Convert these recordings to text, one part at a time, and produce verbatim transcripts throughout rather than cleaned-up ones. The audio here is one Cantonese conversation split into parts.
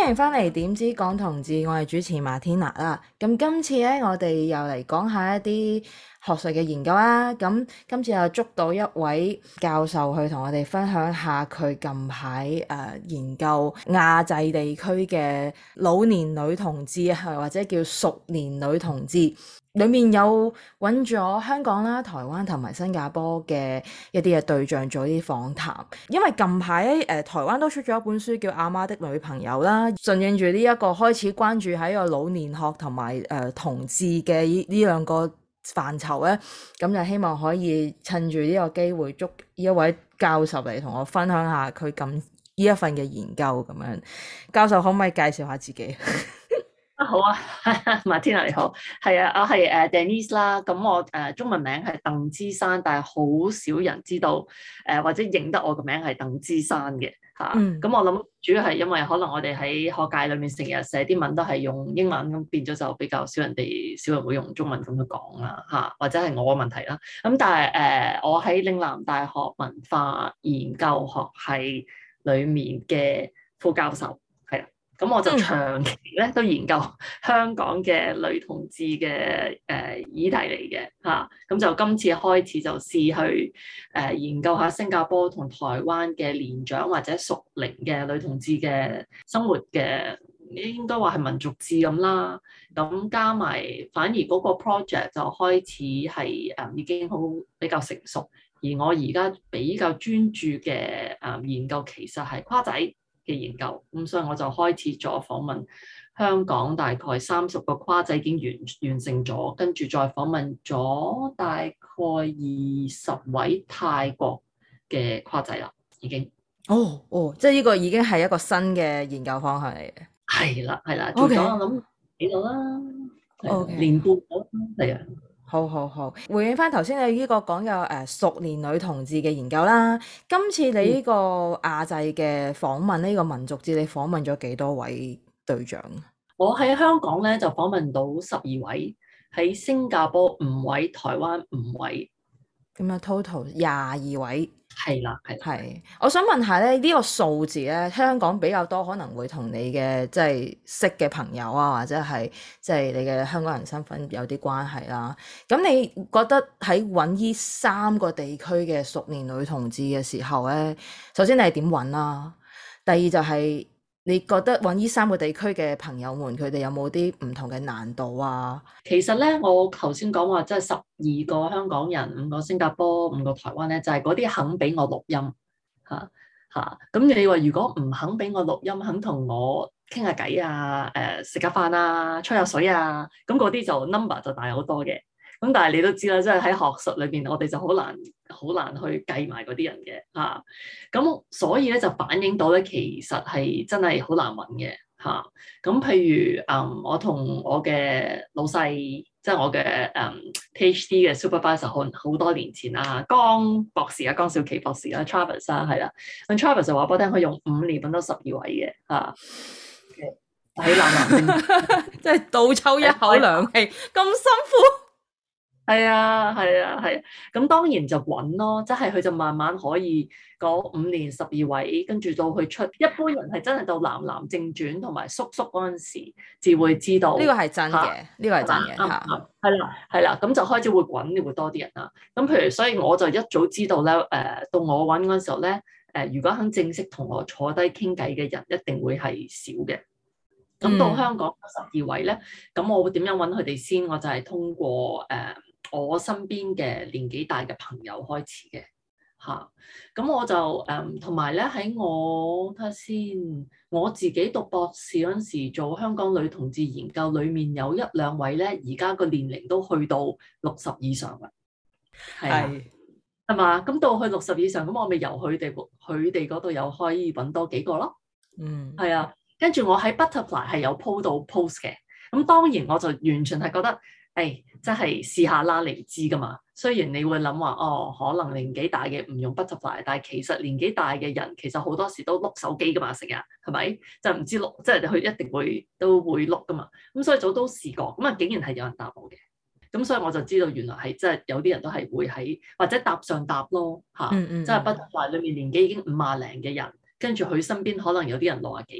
歡迎翻嚟點知講同志，我係主持馬天娜啦。咁今次咧，我哋又嚟講下一啲學術嘅研究啦。咁今次又捉到一位教授去同我哋分享下佢近排誒、呃、研究亞際地區嘅老年女同志啊，或者叫熟年女同志。裏面有揾咗香港啦、台灣同埋新加坡嘅一啲嘅對象做啲訪談，因為近排誒、呃、台灣都出咗一本書叫《阿媽的女朋友》啦，順應住呢一個開始關注喺個老年學同埋誒同志嘅呢兩個範疇咧，咁就希望可以趁住呢個機會捉呢一位教授嚟同我分享下佢咁呢一份嘅研究咁樣。教授可唔可以介紹下自己？ 啊好啊，馬天娜你好，係啊，我係誒 Denise 啦，咁我誒、呃、中文名係鄧芝珊，但係好少人知道誒、呃、或者認得我個名係鄧芝珊嘅嚇。咁、嗯、我諗主要係因為可能我哋喺學界裏面成日寫啲文都係用英文，咁變咗就比較少人哋少人會用中文咁去講啦嚇，或者係我嘅問題啦。咁但係誒、呃、我喺嶺南大學文化研究學系裡面嘅副教授。咁我就長期咧都研究香港嘅女同志嘅誒、呃、議題嚟嘅嚇，咁、啊、就今次開始就試去誒、呃、研究下新加坡同台灣嘅年長或者熟齡嘅女同志嘅生活嘅，應該話係民族誌咁啦。咁加埋反而嗰個 project 就開始係誒、呃、已經好比較成熟，而我而家比較專注嘅誒、呃、研究其實係跨仔嘅研究，咁所以我就開始咗訪問香港大概三十個跨仔已經完完成咗，跟住再訪問咗大概二十位泰國嘅跨仔啦，已經。 哦哦，即係呢個已經係一個新嘅研究方向嚟嘅。 係啦係啦，做咗我諗幾度啦，年半咗，係啊。 好好好，回應翻頭先你呢個講嘅誒熟年女同志嘅研究啦。今次你呢個亞際嘅訪問呢、嗯、個民族誌，你訪問咗幾多位對象？ 我喺香港咧就訪問到十二位，喺新加坡五位，台灣五位， 咁啊 total 廿二位。 係啦，係。 係，我想問下咧，呢、這個數字咧，香港比較多可能會同你嘅即係識嘅朋友啊，或者係即係你嘅香港人身份有啲關係啦。咁你覺得喺揾呢三個地區嘅熟年女同志嘅時候咧，首先你係點揾啦？第二就係、是、你覺得揾呢三個地區嘅朋友們，佢哋有冇啲唔同嘅難度啊？ 其實咧，我頭先講話即係十二個香港人，五個新加坡，五個台灣咧，就係嗰啲肯俾我錄音嚇嚇。咁、啊、你話如果唔肯俾我錄音，肯同我傾下偈啊，誒食下飯啊，吹下水啊，咁嗰啲就 number 就大好多嘅。咁但係你都知啦，即係喺學術裏邊，我哋就好難好難去計埋嗰啲人嘅嚇。咁、啊、所以咧就反映到咧，其實係真係好難揾嘅。嚇，咁、啊、譬如誒、嗯，我同我嘅老細，即係我嘅誒、嗯、PhD 嘅 supervisor，好好多年前啊，江博士啊，江少琪博士啊 Travis 啊，係啦，咁 Travis 就話俾我聽，佢用五年揾到十二位嘅嚇，喺南南即係倒抽一口涼氣，咁辛苦。 係啊，係啊，係啊，咁當然就揾咯，即係佢就慢慢可以嗰五年十二位，跟住到佢出，一般人係真係到男男正傳同埋叔叔嗰陣時，至會知道。呢個係真嘅，呢個係真嘅嚇。係啦，係啦，咁就開始會揾會多啲人啦。咁譬如，所以我就一早知道咧，誒、呃，到我揾嗰陣時候咧，誒、呃，如果肯正式同我坐低傾偈嘅人，一定會係少嘅。咁到香港十二位咧，咁、嗯、我會點樣揾佢哋先？我就係通過誒。呃我身邊嘅年紀大嘅朋友開始嘅嚇，咁、啊、我就誒同埋咧喺我睇下先，我自己讀博士嗰陣時做香港女同志研究，裡面有一兩位咧，而家個年齡都去到六十以上嘅，係啊，係嘛？咁到去六十以上，咁我咪由佢哋佢哋嗰度又可以揾多幾個咯，嗯，係啊，跟住我喺 Butterfly 係有 po 到 post 嘅，咁當然我就完全係覺得。誒，即係試下啦，你唔知噶嘛。雖然你會諗話，哦，可能年紀大嘅唔用 Butterfly，但係其實年紀大嘅人其實好多時都碌手機噶嘛，成日係咪？就唔知碌，即係佢一定會都會碌噶嘛。咁所以早都試過，咁啊竟然係有人答我嘅。咁所以我就知道原來係即係有啲人都係會喺或者搭上搭咯嚇，即係、嗯嗯、Butterfly 裏面年紀已經五廿零嘅人，跟住佢身邊可能有啲人六廿幾嘅。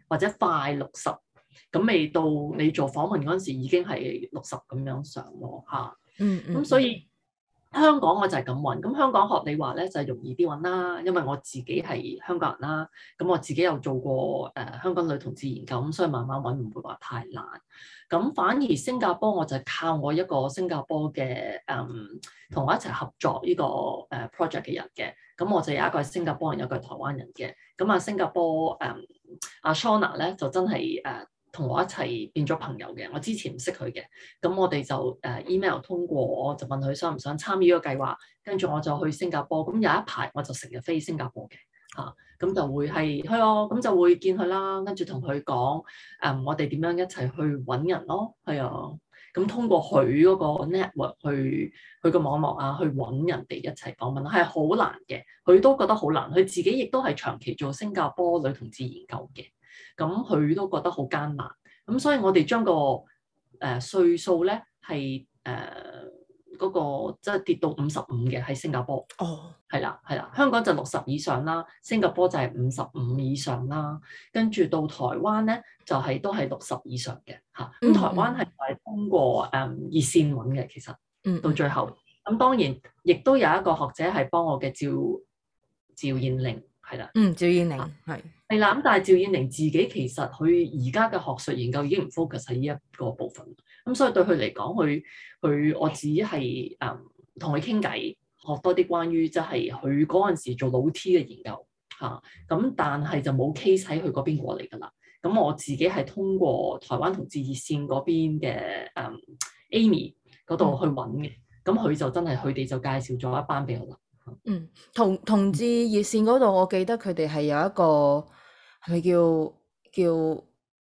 或者快六十，咁未到你做訪問嗰陣時已經係六十咁樣上咯嚇。 嗯嗯。 咁所以香港我就係咁揾，咁香港學你話咧就係容易啲揾啦，因為我自己係香港人啦，咁我自己有做過誒、呃、香港女同志研究，咁所以慢慢揾唔會話太難。咁反而新加坡我就係靠我一個新加坡嘅誒同我一齊合作呢個誒 project 嘅人嘅，咁我就有一個係新加坡人，有一個係台灣人嘅。咁啊新加坡誒阿 Shona 咧就真係誒同我一齊變咗朋友嘅，我之前唔識佢嘅，咁我哋就誒 email 通過，我就問佢想唔想參與呢個計劃，跟住我就去新加坡，咁有一排我就成日飛新加坡嘅嚇，咁、啊、就會係係咯，咁就會見佢啦，跟住同佢講誒我哋點樣一齊去揾人咯，係啊，咁通過佢嗰個 network 去佢個網絡啊，去揾人哋一齊訪問，係好難嘅，佢都覺得好難，佢自己亦都係長期做新加坡女同志研究嘅。咁佢都覺得好艱難，咁所以我哋將個誒歲數咧係誒嗰個即係跌到五十五嘅喺新加坡。 哦， 係啦係啦，香港就六十以上啦，新加坡就係五十五以上啦，跟住到台灣咧就係、是、都係六十以上嘅嚇。咁、嗯、台灣係係通過誒、嗯、熱線揾嘅，其實到最後，咁、嗯、當然亦都有一個學者係幫我嘅趙趙燕玲。係啦， 嗯，趙燕玲係係啦，咁但係趙燕玲自己其實佢而家嘅學術研究已經唔 focus 喺呢一個部分，咁所以對佢嚟講，佢佢我只係誒同佢傾偈，學多啲關於即係佢嗰陣時做老 T 嘅研究嚇，咁、啊、但係就冇 case 喺佢嗰邊過嚟㗎啦。咁我自己係通過台灣同志熱線嗰邊嘅誒、嗯、Amy 嗰度去揾嘅，咁佢、嗯、就真係佢哋就介紹咗一班俾我啦。 嗯，同同志熱線嗰度，我記得佢哋係有一個係咪叫叫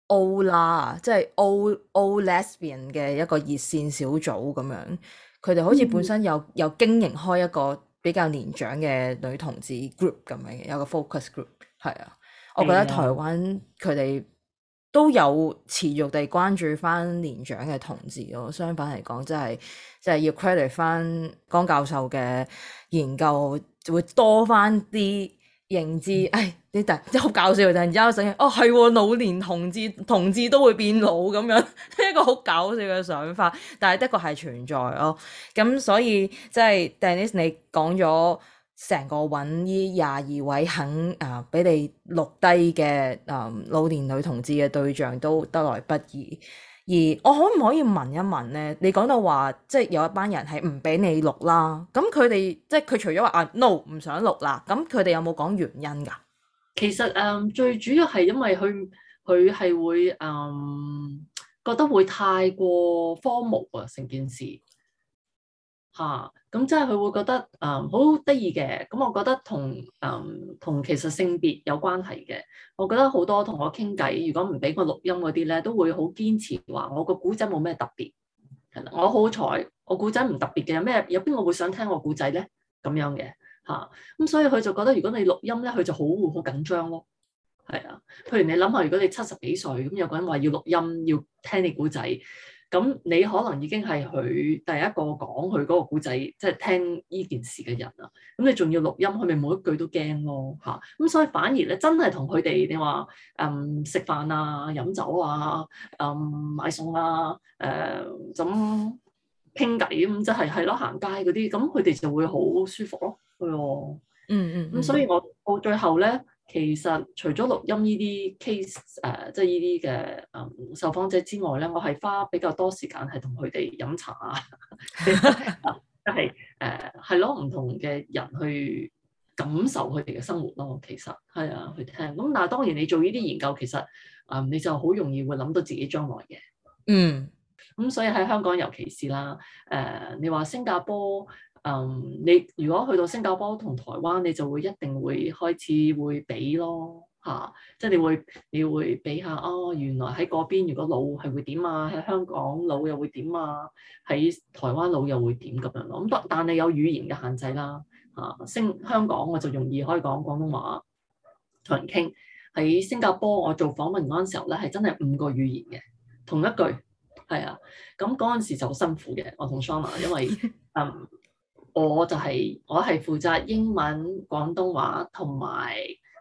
O 啦，即係 O O Lesbian 嘅一個熱線小組咁樣。佢哋好似本身有、嗯、有經營開一個比較年長嘅女同志 group 咁樣嘅，有個 focus group。係啊，我覺得台灣佢哋都有持續地關注翻年長嘅同志咯。相反嚟講，即係即係要 credit 翻江教授嘅研究，就會多翻啲認知。誒、哎，你突即係好搞笑，突然之間醒起，哦係，老年同志同志都會變老咁樣，一個好搞笑嘅想法，但係的確係存在咯。咁所以即係 Denise 你講咗。成個揾呢廿二位肯啊俾你錄低嘅啊老年女同志嘅對象都得來不易，而我可唔可以問一問咧？你講到話即係有一班人係唔俾你錄啦，咁佢哋即係佢除咗話啊 no 唔想錄啦，咁佢哋有冇講原因㗎？其實誒、嗯、最主要係因為佢佢係會誒、嗯、覺得會太過荒謬啊成件事。嚇，咁即係佢會覺得誒好得意嘅，咁、嗯、我覺得同誒同其實性別有關係嘅。我覺得好多同我傾偈，如果唔俾我錄音嗰啲咧，都會好堅持話我個古仔冇咩特別。係啦，我好彩，我古仔唔特別嘅，有咩有邊個會想聽我古仔咧？咁樣嘅嚇，咁、嗯、所以佢就覺得如果你錄音咧，佢就好好緊張咯。係啊，譬如你諗下，如果你七十幾歲，咁有個人話要錄音，要聽你古仔。咁你可能已經係佢第一個講佢嗰個故仔，即係聽呢件事嘅人啦。咁你仲要錄音，佢咪每一句都驚咯嚇。咁所以反而咧，真係同佢哋你話誒食飯啊、飲酒啊、誒、嗯、買餸啊、誒咁傾偈咁，即係係咯行街嗰啲，咁佢哋就會好舒服咯。係喎，嗯嗯。咁所以我到最後咧。其實除咗錄音呢啲 case 誒、呃，即係呢啲嘅誒受訪者之外咧，我係花比較多時間係同佢哋飲茶啊，即係誒係咯，唔同嘅人去感受佢哋嘅生活咯。其實係啊，去聽。咁但係當然你做呢啲研究，其實誒、呃、你就好容易會諗到自己將來嘅。嗯。咁所以喺香港尤其是啦，誒、呃、你話新加坡。嗯，你如果去到新加坡同台灣，你就會一定會開始會比咯嚇、啊，即係你會你會比下哦，原來喺嗰邊如果老係會點啊，喺香港老又會點啊，喺台灣老又會點咁樣咯。咁但但係有語言嘅限制啦嚇，新、啊、香港我就容易可以講廣東話同人傾，喺新加坡我做訪問嗰陣時候咧係真係五個語言嘅同一句係啊，咁嗰陣時就好辛苦嘅，我同 Shona 因為嗯。我就係、是、我係負責英文、廣東話同埋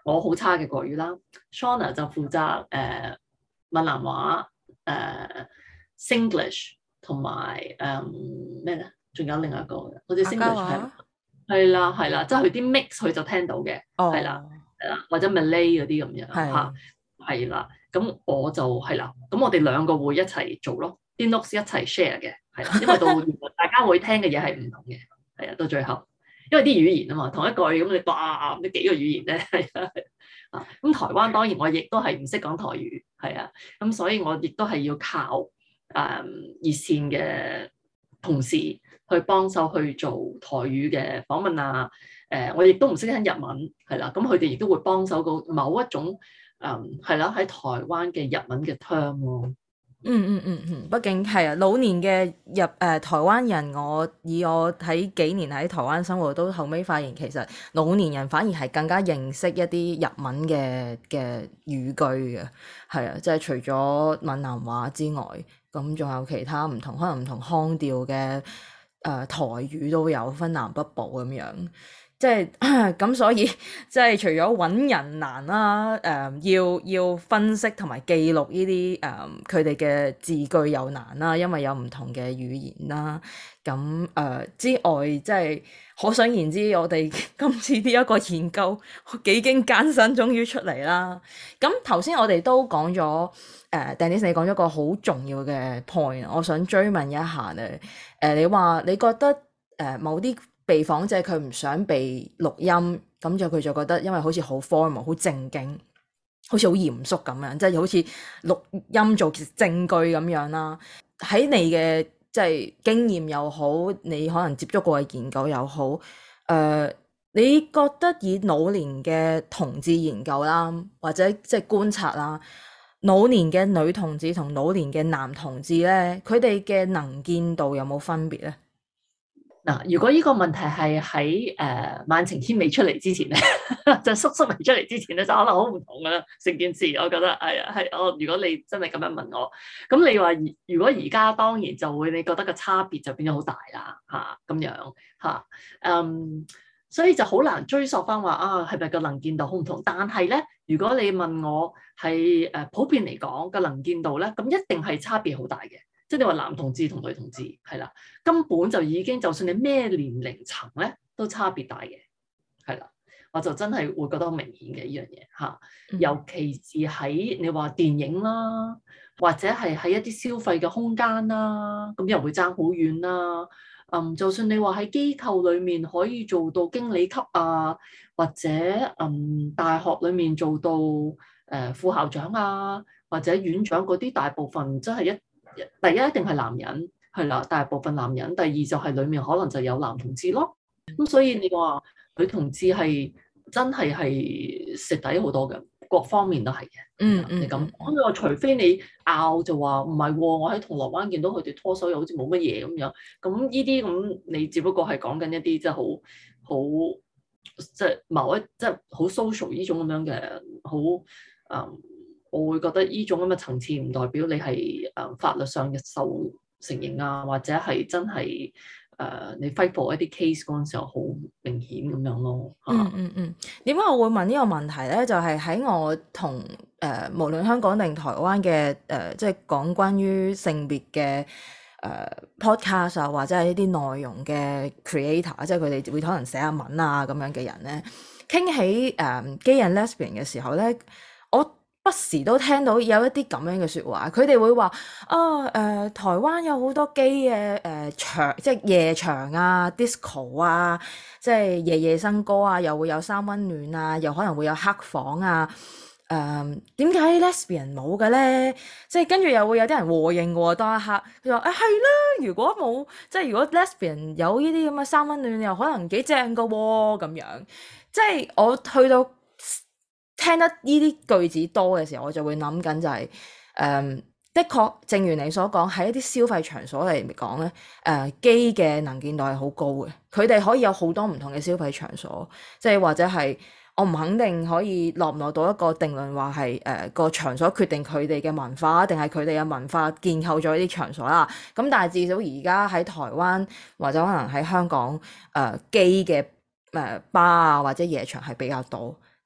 我好差嘅國語啦 ，Shona 就負責誒、呃、閩南話、誒、呃、Singlish 同埋誒咩咧？仲、呃、有另外一個嘅，好似客家 Singlish 係話係啦係啦，即係佢啲 mix 佢就聽到嘅，係啦哦， 係啦，或者 Malay 嗰啲咁樣嚇， 係係啦。咁我就係啦，咁我哋兩個會一齊做咯，啲 notes 一齊 share 嘅，係啦，因為到原來大家會聽嘅嘢係唔同嘅，係啊，到最後。因為啲語言啊嘛，同一句咁你哇，呢幾個語言咧，係啊，啊咁台灣當然我亦都係唔識講台語，係啊，咁所以我亦都係要靠誒、嗯、熱線嘅同事去幫手去做台語嘅訪問啊，誒、呃、我亦都唔識聽日文，係啦，咁佢哋亦都會幫手到某一種誒係啦喺台灣嘅日文嘅 term 咯。 嗯嗯嗯嗯，畢竟係啊，老年嘅日誒、呃、台灣人，我以我喺幾年喺台灣生活，都後尾發現其實老年人反而係更加認識一啲日文嘅嘅語句嘅，係啊，即係除咗閩南話之外，咁仲有其他唔同，可能唔同腔調嘅誒、呃、台語都有分南北部咁樣。即係咁，所以即係除咗揾人難啦，誒、呃、要要分析同埋記錄呢啲誒佢哋嘅字句又難啦，因為有唔同嘅語言啦。咁誒、呃、之外，即係可想而知，我哋今次呢一個研究幾經艱辛，終於出嚟啦。咁頭先我哋都講咗誒，Denise 你講咗個好重要嘅 point，我想追問一下咧。誒、呃，你話你覺得誒、呃、某啲被訪者佢唔想被錄音，咁就佢就覺得因為好似好 formal 好正經，好似好嚴肅咁樣，即係好似錄音做證據咁樣啦。喺你嘅即係經驗又好，你可能接觸過嘅研究又好，誒、呃，你覺得以老年嘅同志研究啦，或者即係觀察啦，老年嘅女同志同老年嘅男同志咧，佢哋嘅能見度有冇分別咧？ 嗱，如果呢個問題係喺誒萬晴軒未出嚟之前咧，就叔叔未出嚟之前咧，就可能好唔同噶啦，成件事我覺得係啊係我。如果你真係咁樣問我，咁你話如果而家當然就會你覺得個差別就變咗好大啦嚇咁樣嚇，嗯，所以就好難追溯翻話啊係咪個能見度好唔同？但係咧，如果你問我係誒普遍嚟講個能見度咧，咁一定係差別好大嘅。即係你話男同志同女同志係啦，根本就已經就算你咩年齡層咧，都差別大嘅，係啦，我就真係會覺得好明顯嘅呢樣嘢嚇。尤其是喺你話電影啦，或者係喺一啲消費嘅空間啦，咁又會爭好遠啦。嗯，就算你話喺機構裡面可以做到經理級啊，或者嗯大學裡面做到誒、呃、副校長啊，或者院長嗰啲，大部分真係一。第一一定係男人，係啦，大部分男人。第二就係裡面可能就有男同志咯。咁所以你話女同志係真係係蝕底好多嘅，各方面都係嘅。 嗯嗯， 你咁咁你話除非你拗就話唔係喎，我喺銅鑼灣見到佢哋拖手又好似冇乜嘢咁樣。咁呢啲咁你只不過係講緊一啲即係好好即係某一即係好 social 呢種咁樣嘅好嗯。我會覺得呢種咁嘅層次唔代表你係誒法律上嘅受承認啊，或者係真係誒、呃、你 fight for 一啲 case 嗰陣時候好明顯咁樣咯。 嗯嗯嗯，點解我會問呢個問題咧？就係、是、喺我同誒、呃、無論香港定台灣嘅誒、呃，即係講關於性別嘅誒、呃、podcast 啊，或者係呢啲內容嘅 creator，即係佢哋會可能寫下文啊咁樣嘅人咧，傾起誒 gay and lesbian 嘅時候咧，我不時都聽到有一啲咁樣嘅説話，佢哋會話啊誒，台灣有好多 gay 嘅誒場，即係夜場啊、disco 啊，即係夜夜笙歌啊，又會有三溫暖啊，又可能會有黑房啊。誒點解 lesbian 冇嘅咧？即係跟住又會有啲人和應喎，當一刻佢話誒係啦，如果冇即係如果 lesbian 有呢啲咁嘅三溫暖，又可能幾正㗎喎咁樣。即係我去到聽得呢啲句子多嘅時候，我就會諗緊就係、是、誒、嗯，的確，正如你所講，喺一啲消費場所嚟講咧，誒基嘅能見度係好高嘅，佢哋可以有好多唔同嘅消費場所，即係或者係我唔肯定可以落唔落到一個定論，話係誒個場所決定佢哋嘅文化，定係佢哋嘅文化建構咗呢啲場所啦。咁但係至少而家喺台灣或者可能喺香港誒基嘅誒吧啊或者夜場係比較多。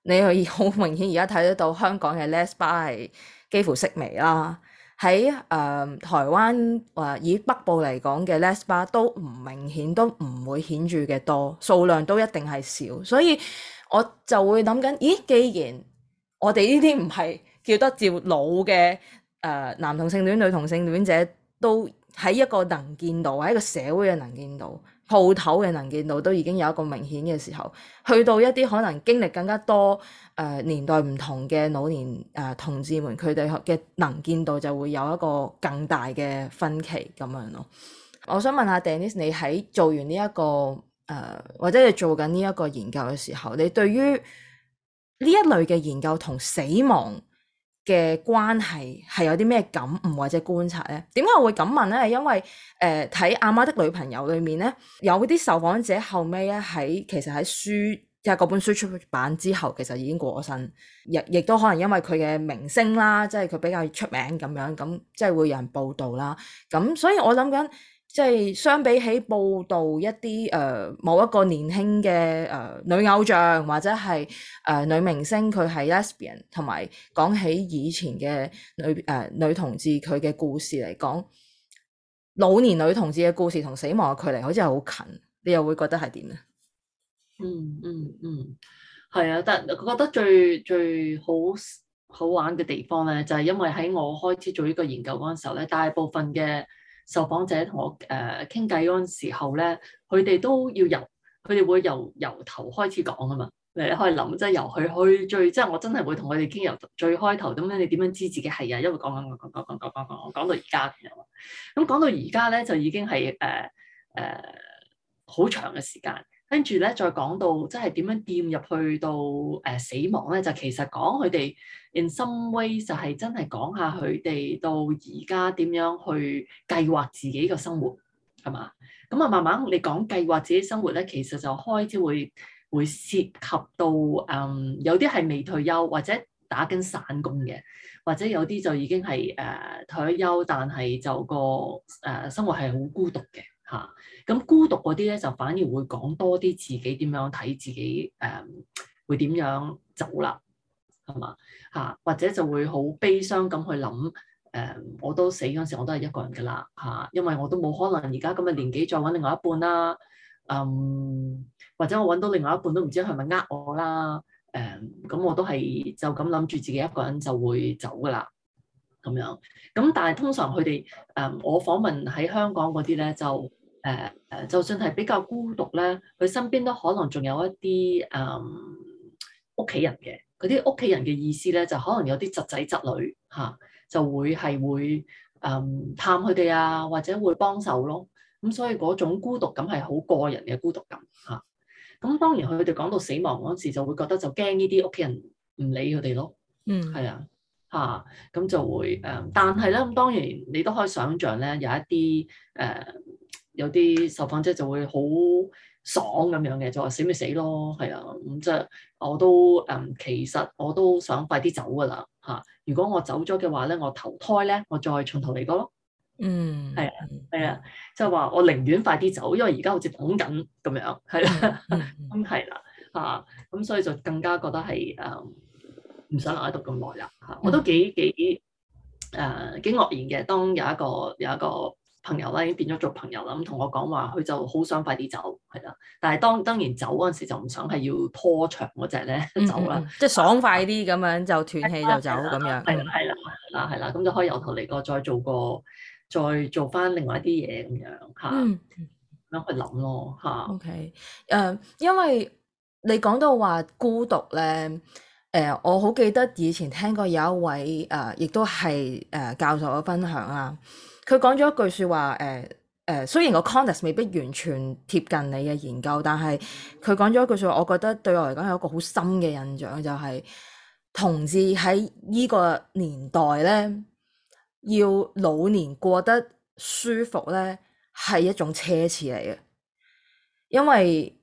你可以好明顯而家睇得到香港嘅 Les bar 係幾乎式微啦。喺誒、呃、台灣或、呃、以北部嚟講嘅 Les bar 都唔明顯，都唔會顯著嘅多，數量都一定係少。所以我就會諗緊，咦？既然我哋呢啲唔係叫得照老嘅誒、呃、男同性戀、女同性戀者，都喺一個能見度，喺一個社會嘅能見度、鋪頭嘅能見度都已經有一個明顯嘅時候，去到一啲可能經歷更加多誒、呃、年代唔同嘅老年誒、呃、同志們，佢哋嘅能見度就會有一個更大嘅分歧咁樣咯。我想問下 Denise，你喺做完呢、這、一個誒、呃、或者你做緊呢一個研究嘅時候，你對於呢一類嘅研究同死亡嘅關係係有啲咩感悟或者觀察呢？點解我會咁問呢？係因為誒睇《阿媽的女朋友》裏面呢，有啲受訪者後尾咧喺其實喺書即係嗰本書出版之後，其實已經過咗身，亦亦都可能因為佢嘅名聲啦，即係佢比較出名咁樣，咁即係會有人報道啦。咁所以我諗緊。即係相比起報導一啲誒、呃、某一個年輕嘅誒、呃、女偶像或者係誒、呃、女明星佢係 lesbian， 同埋講起以前嘅女誒、呃、女同志佢嘅故事嚟講，老年女同志嘅故事同死亡嘅距離好似係好近，你又會覺得係點咧？ 嗯嗯嗯，係啊，但係我覺得最最好好玩嘅地方咧，就係、是、因為喺我開始做呢個研究嗰陣時候咧，大部分嘅受訪者同我誒傾偈嗰陣時候咧，佢哋都要由佢哋會由由頭開始講啊嘛。你可以諗，即係由佢去最，即係我真係會同佢哋傾由最開頭咁樣。你點樣知自己係啊？因為講講講講講講講講，我講到而家咁樣。咁講到而家咧，就已經係誒誒好長嘅時間。跟住咧，再講到即係點樣掂入去到誒、呃、死亡咧，就其實講佢哋 in some way 就係真係講下佢哋到而家點樣去計劃自己嘅生活，係嘛？咁啊，慢慢你講計劃自己生活咧，其實就開始會會涉及到誒、嗯、有啲係未退休或者打緊散工嘅，或者有啲就已經係誒、呃、退咗休，但係就個誒、呃、生活係好孤獨嘅。嚇，咁、啊、孤獨嗰啲咧就反而會講多啲自己點樣睇自己誒、嗯，會點樣走啦，係嘛嚇？或者就會好悲傷咁去諗誒、嗯，我都死嗰陣時我都係一個人㗎啦嚇，因為我都冇可能而家咁嘅年紀再揾另外一半啦，嗯，或者我揾到另外一半都唔知係咪呃我啦，誒、嗯，咁我都係就咁諗住自己一個人就會走㗎啦。咁樣，咁但係通常佢哋誒，我訪問喺香港嗰啲咧，就誒誒、呃，就算係比較孤獨咧，佢身邊都可能仲有一啲誒屋企人嘅。嗰啲屋企人嘅意思咧，就可能有啲侄仔侄女嚇、啊，就會係會誒、嗯、探佢哋啊，或者會幫手咯。咁所以嗰種孤獨感係好個人嘅孤獨感嚇。咁、啊、當然佢哋講到死亡嗰時，就會覺得就驚呢啲屋企人唔理佢哋咯。嗯，係啊。嚇，咁、啊、就會誒、呃，但係咧，咁當然你都可以想像咧，有一啲誒、呃，有啲受訪者就會好爽咁樣嘅，就話死咪死咯，係啊，咁即係我都誒、呃，其實我都想快啲走噶啦嚇。如果我走咗嘅話咧，我投胎咧，我再從頭嚟過咯。嗯，係啊，係啊，即係話我寧願快啲走，因為而家好似等緊咁樣，係啦，咁係啦嚇，咁所以就更加覺得係誒。呃唔想留喺度咁耐啦嚇，我都幾幾誒幾愕然嘅。當有一個有一個朋友啦，已經變咗做朋友啦，咁同我講話，佢就好想快啲走，係啦。但係當當然走嗰陣時就唔想係要拖長嗰隻咧走啦， 即係爽快啲咁樣就斷氣就走咁樣。 係啦係啦係啦係啦，咁就可以由頭嚟過，再做個再做翻另外一啲嘢咁樣嚇，咁樣去諗咯嚇。 OK，誒，因為你講到話孤獨咧。誒、呃，我好記得以前聽過有一位誒、呃，亦都係誒、呃、教授嘅分享啦。佢講咗一句説話，誒、呃、誒、呃，雖然個 context 未必完全貼近你嘅研究，但係佢講咗一句説話，我覺得對我嚟講有一個好深嘅印象，就係、是、同志喺呢個年代咧，要老年過得舒服咧，係一種奢侈嚟嘅，因為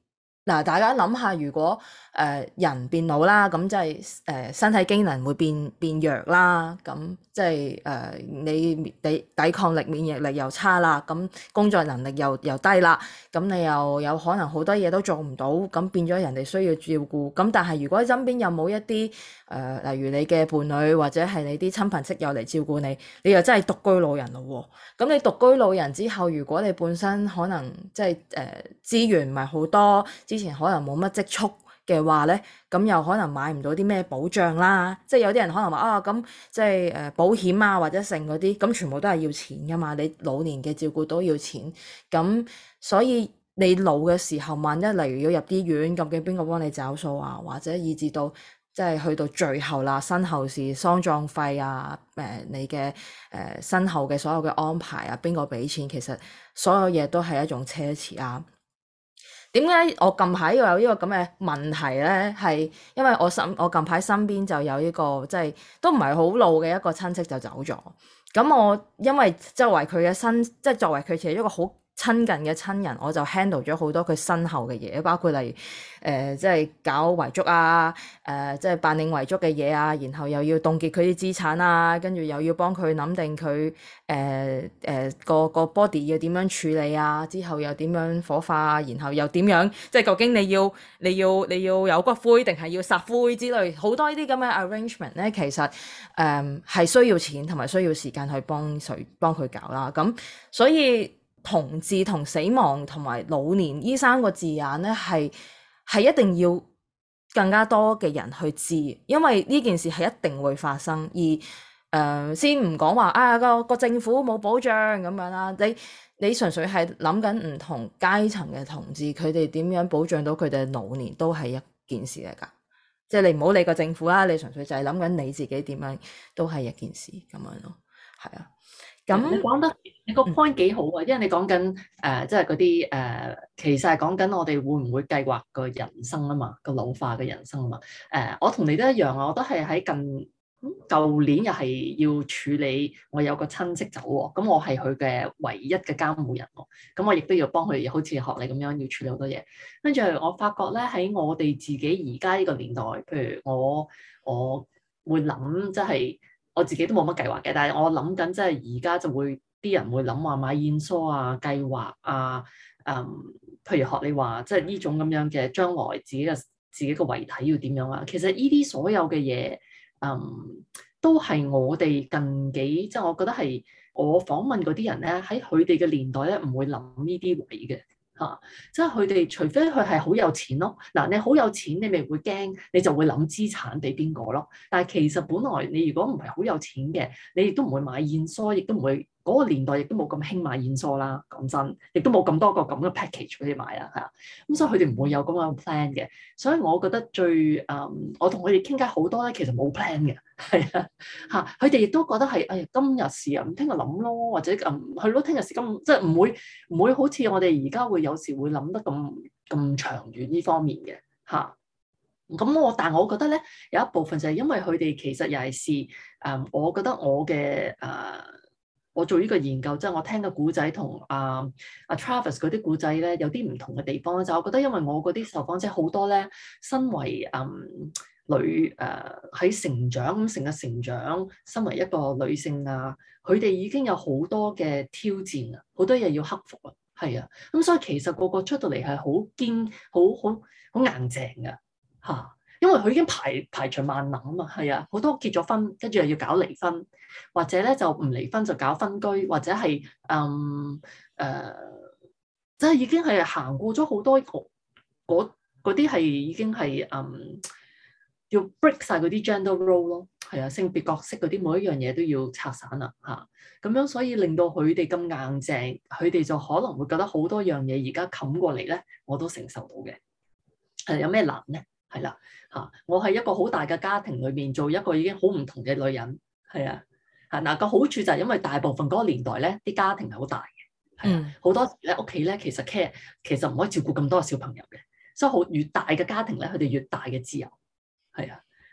嗱，大家諗下，如果誒、呃、人變老啦，咁即係誒身體機能會變變弱啦，咁即係誒、呃、你抵抵抗力、免疫力又差啦，咁工作能力又又低啦，咁你又有可能好多嘢都做唔到，咁變咗人哋需要照顧。咁但係如果身邊有冇一啲誒、呃，例如你嘅伴侶或者係你啲親朋戚友嚟照顧你，你又真係獨居老人咯喎。咁你獨居老人之後，如果你本身可能即係誒資源唔係好多，之前可能冇乜積蓄嘅話咧，咁又可能買唔到啲咩保障啦。即係有啲人可能話啊，咁即係誒保險啊或者剩嗰啲，咁全部都係要錢噶嘛。你老年嘅照顧都要錢，咁所以你老嘅時候，萬一例如要入醫院，究竟邊個幫你找數啊？或者以至到即係去到最後啦，身後事、喪葬費啊，誒、呃、你嘅誒、呃、身後嘅所有嘅安排啊，邊個俾錢？其實所有嘢都係一種奢侈啊。點解我近排要有呢個咁嘅問題咧？係因為我身我近排身邊就有呢個即係都唔係好老嘅一個親戚就走咗。咁我因為作為佢嘅身，即係作為佢其實一個好親近嘅親人，我就 handle 咗好多佢身後嘅嘢，包括例如誒、呃、即係搞遺囑啊，誒、呃、即係辦理遺囑嘅嘢啊，然後又要凍結佢啲資產啊，跟住又要幫佢諗定佢誒誒個個 body 要點樣處理啊，之後又點樣火化啊，然後又點樣即係究竟你要你要你要有骨灰定係要撒灰之類，好多呢啲咁嘅 arrangement 咧，其實誒係、呃、需要錢同埋需要時間去幫誰幫佢搞啦，咁所以。同志同死亡同埋老年呢三個字眼咧，係係一定要更加多嘅人去知，因為呢件事係一定會發生。而誒、呃、先唔講話啊個個政府冇保障咁樣啦，你你純粹係諗緊唔同階層嘅同志，佢哋點樣保障到佢哋老年都係一件事嚟㗎。即係你唔好理個政府啦，你純粹就係諗緊你自己點樣都係一件事咁樣咯，係啊。咁你講得你個 point 幾好啊，因為你講緊誒，即係嗰啲誒，其實係講緊我哋會唔會計劃個人生啊嘛，個老化嘅人生啊嘛。誒、呃，我同你都一樣啊，我都係喺近舊年又係要處理，我有個親戚走喎，咁我係佢嘅唯一嘅監護人喎，咁我亦都要幫佢，好似學你咁樣要處理好多嘢。跟住我發覺咧，喺我哋自己而家呢個年代，譬如我我會諗即係。我自己都冇乜計劃嘅，但係我諗緊，即係而家就會啲人會諗話買燕梳啊、計劃啊，嗯，譬如學你話，即係呢種咁樣嘅將來自己嘅自己嘅遺體要點樣啊？其實呢啲所有嘅嘢，嗯，都係我哋近幾，即係我覺得係我訪問嗰啲人咧，喺佢哋嘅年代咧，唔會諗呢啲位嘅。嚇、啊！即係佢哋，除非佢係好有錢咯。嗱、啊，你好有錢，你咪會驚，你就會諗資產俾邊個咯。但係其實本來你如果唔係好有錢嘅，你亦都唔會買燕梳，亦都唔會嗰、那個年代亦都冇咁興買燕梳啦。講真，亦都冇咁多個咁嘅 package 俾你買啊。係啊，咁所以佢哋唔會有咁樣嘅 plan 嘅。所以我覺得最誒、嗯，我同佢哋傾偈好多咧，其實冇 plan 嘅。係啊，嚇！佢哋亦都覺得係，哎呀，今日事啊，咁聽日諗咯，或者嗯，係咯，聽日事今即係唔會唔會好似我哋而家會有時會諗得咁咁長遠呢方面嘅嚇。咁我但係我覺得咧，有一部分就係因為佢哋其實又係試誒，我覺得我嘅誒、呃，我做呢個研究即係、就是、我聽嘅古仔同阿阿 Travis 嗰啲古仔咧有啲唔同嘅地方咧，就我覺得因為我嗰啲受訪者好多咧，身為嗯。女誒喺、呃、成長咁成日成長，身為一個女性啊，佢哋已經有好多嘅挑戰啊，好多嘢要克服啊，係啊，咁所以其實個個出到嚟係好堅，好好好硬淨㗎嚇，因為佢已經排排除萬難啊嘛，係啊，好多結咗婚，跟住又要搞離婚，或者咧就唔離婚就搞分居，或者係嗯誒，即係已經係行過咗好多嗰嗰啲係已經係嗯。要 break 晒嗰啲 gender role 咯，係啊，性別角色嗰啲每一樣嘢都要拆散啦嚇，咁樣所以令到佢哋咁硬淨，佢哋就可能會覺得好多樣嘢而家冚過嚟咧，我都承受到嘅。係有咩難咧？係啦嚇，我係一個好大嘅家庭裏面做一個已經好唔同嘅女人，係啊嚇嗱個好處就係因為大部分嗰個年代咧，啲家庭係好大嘅，係啊，好多時咧屋企咧其實 care 其實唔可以照顧咁多小朋友嘅，所以好越大嘅家庭咧，佢哋越大嘅自由。係啊，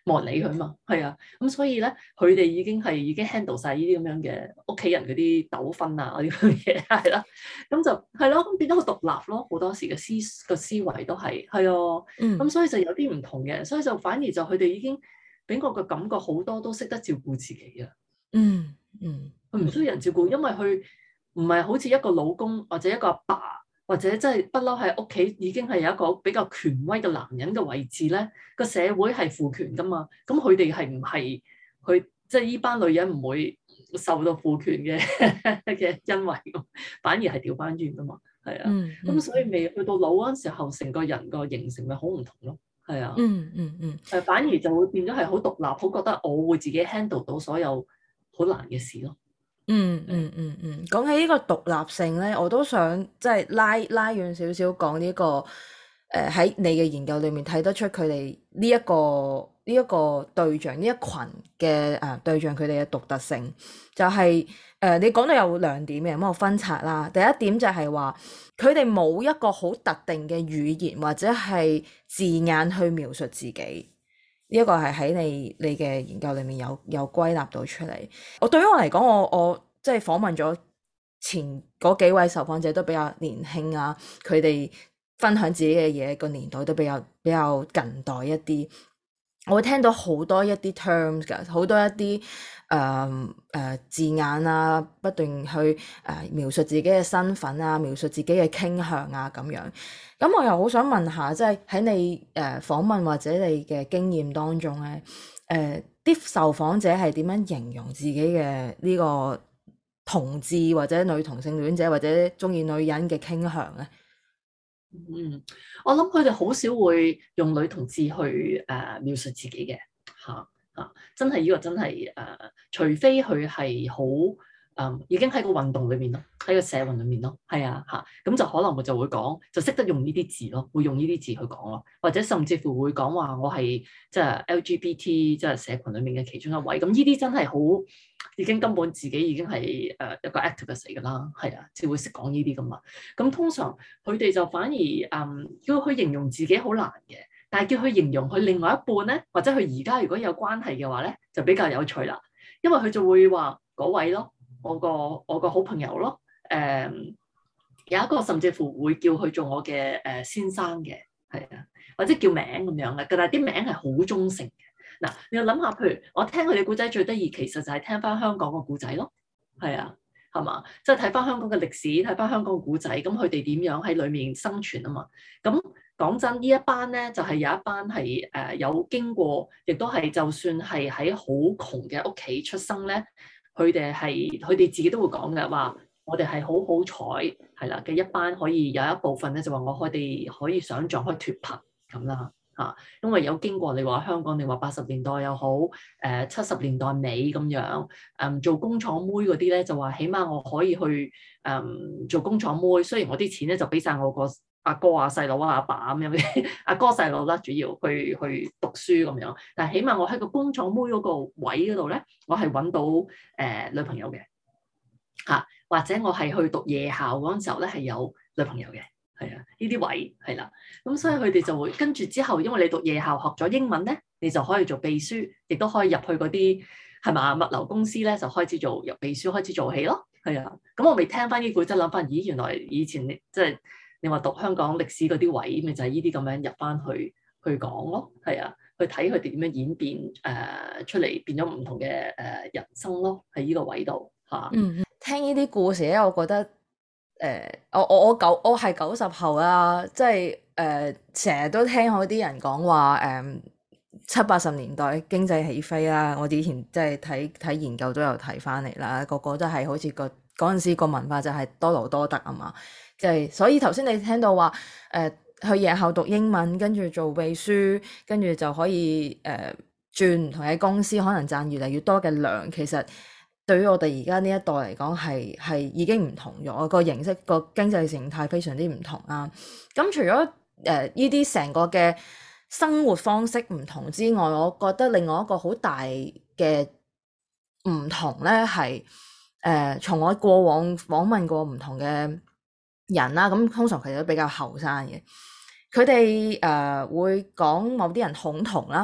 冇人理佢嘛，係啊，咁所以咧，佢哋已經係已經 handle 晒呢啲咁樣嘅屋企人嗰啲糾紛啊，嗰啲咁嘅嘢係啦，咁就係咯，咁變咗好獨立咯，好多時嘅思個思維都係係啊，咁、 嗯所以就有啲唔同嘅，所以就反而就佢哋已經俾我嘅感覺好多都識得照顧自己啊， 嗯嗯， 佢唔需要人照顧，因為佢唔係好似一個老公或者一個阿爸，或者真係不嬲喺屋企已經係有一個比較權威嘅男人嘅位置咧，個社會係父權噶嘛，咁佢哋係唔係佢即係呢班女人唔會受到父權嘅嘅恩惠，反而係調翻轉噶嘛，係啊，咁、 嗯嗯、 所以未去到老嗰陣時候，成個人個形成咪好唔同咯，係啊， 嗯嗯嗯， 誒反而就會變咗係好獨立，好覺得我會自己 handle 到所有好難嘅事咯。 嗯嗯嗯嗯，講起呢個獨立性咧，我都想即係拉拉遠少少講呢個誒喺、呃、你嘅研究裏面睇得出佢哋呢一個呢一、個對象呢一群嘅誒、呃、對象佢哋嘅獨特性，就係、是、誒、呃、你講到有兩點嘅，咁我分拆啦。第一點就係話佢哋冇一個好特定嘅語言或者係字眼去描述自己。呢一個係喺你你嘅研究裏面有有歸納到出嚟。我對於我嚟講，我我即係訪問咗前嗰幾位受訪者都比較年輕啊，佢哋分享自己嘅嘢個年代都比較比較近代一啲。我會聽到好多一啲 terms 㗎，好多一啲誒誒字眼啊，不斷去誒、呃、描述自己嘅身份啊，描述自己嘅傾向啊咁樣。咁我又好想問下，即係喺你誒、呃、訪問或者你嘅經驗當中咧，誒、呃、啲受訪者係點樣形容自己嘅呢個同志或者女同性戀者或者中意女人嘅傾向咧？ 嗯，我諗佢哋好少會用女同志去誒、呃、描述自己嘅嚇嚇，真係呢個真係誒、呃，除非佢係好誒，已經喺個運動裏面咯，喺個社運裏面咯，係啊嚇，咁就可能我就會講，就識得用呢啲字咯，會用呢啲字去講咯，或者甚至乎會講話我係即係 L G B T 即係社群裏面嘅其中一位，咁呢啲真係好。已經根本自己已經係誒一個 activist 嚟㗎啦，係啊，只會識講呢啲㗎嘛。咁通常佢哋就反而誒、嗯、叫佢形容自己好難嘅，但係叫佢形容佢另外一半咧，或者佢而家如果有關係嘅話咧，就比較有趣啦。因為佢就會話嗰位咯，我個我個好朋友咯，誒、嗯、有一個甚至乎會叫佢做我嘅誒先生嘅，係啊，或者叫名咁樣嘅，但係啲名係好中性嘅。嗱，你要諗下，譬如我聽佢哋故仔最得意，其實就係聽翻香港個故仔咯，係啊，係嘛，即係睇翻香港嘅歷史，睇翻香港嘅故仔，咁佢哋點樣喺裡面生存啊嘛？咁講真，呢一班咧就係、是、有一班係誒、呃、有經過，亦都係就算係喺好窮嘅屋企出生咧，佢哋係佢哋自己都會講嘅話，我哋係好好彩係啦嘅一班，可以有一部分咧就話我哋可以想像可以脫貧咁啦。嚇，因為有經過你話香港，你話八十年代又好，誒七十年代尾咁樣，誒、嗯、做工廠妹嗰啲咧就話，起碼我可以去誒、嗯、做工廠妹，雖然我啲錢咧就俾晒我個阿哥啊、細佬啊、阿爸咁樣，阿哥細佬啦，主要去去讀書咁樣，但係起碼我喺個工廠妹嗰個位嗰度咧，我係揾到誒、呃、女朋友嘅嚇、啊，或者我係去讀夜校嗰陣時候咧係有女朋友嘅。係啊，呢啲位係啦，咁所以佢哋就會跟住之後，因為你讀夜校學咗英文咧，你就可以做秘書，亦都可以入去嗰啲係嘛物流公司咧，就開始做入秘書，開始做起咯。係啊，咁我未聽翻呢句，即係諗翻，咦，原來以前你即係你話讀香港歷史嗰啲位，咪就係呢啲咁樣入翻去去講咯。係啊，去睇佢哋點樣演變誒、呃、出嚟，變咗唔同嘅誒、呃、人生咯。喺呢個位度嚇。啊、 嗯，聽呢啲故事咧，我覺得。誒、呃，我我我九我係九十後啦，即係誒，成、呃、日都聽好啲人講話，誒、呃、七八十年代經濟起飛啦，我以前即係睇睇研究都有睇翻嚟啦，個個都係好似個嗰陣時個文化就係多勞多得啊嘛，即係所以頭先你聽到話誒、呃、去夜校讀英文，跟住做秘書，跟住就可以誒轉唔同嘅公司，可能賺越嚟越多嘅糧，其實。對於我哋而家呢一代嚟講，係係已經唔同咗，個形式個經濟形態非常之唔同啊。咁除咗誒呢啲成個嘅生活方式唔同之外，我覺得另外一個好大嘅唔同咧，係誒從我過往訪問過唔同嘅人啦，咁通常佢哋都比較後生嘅，佢哋誒會講某啲人恐同啦。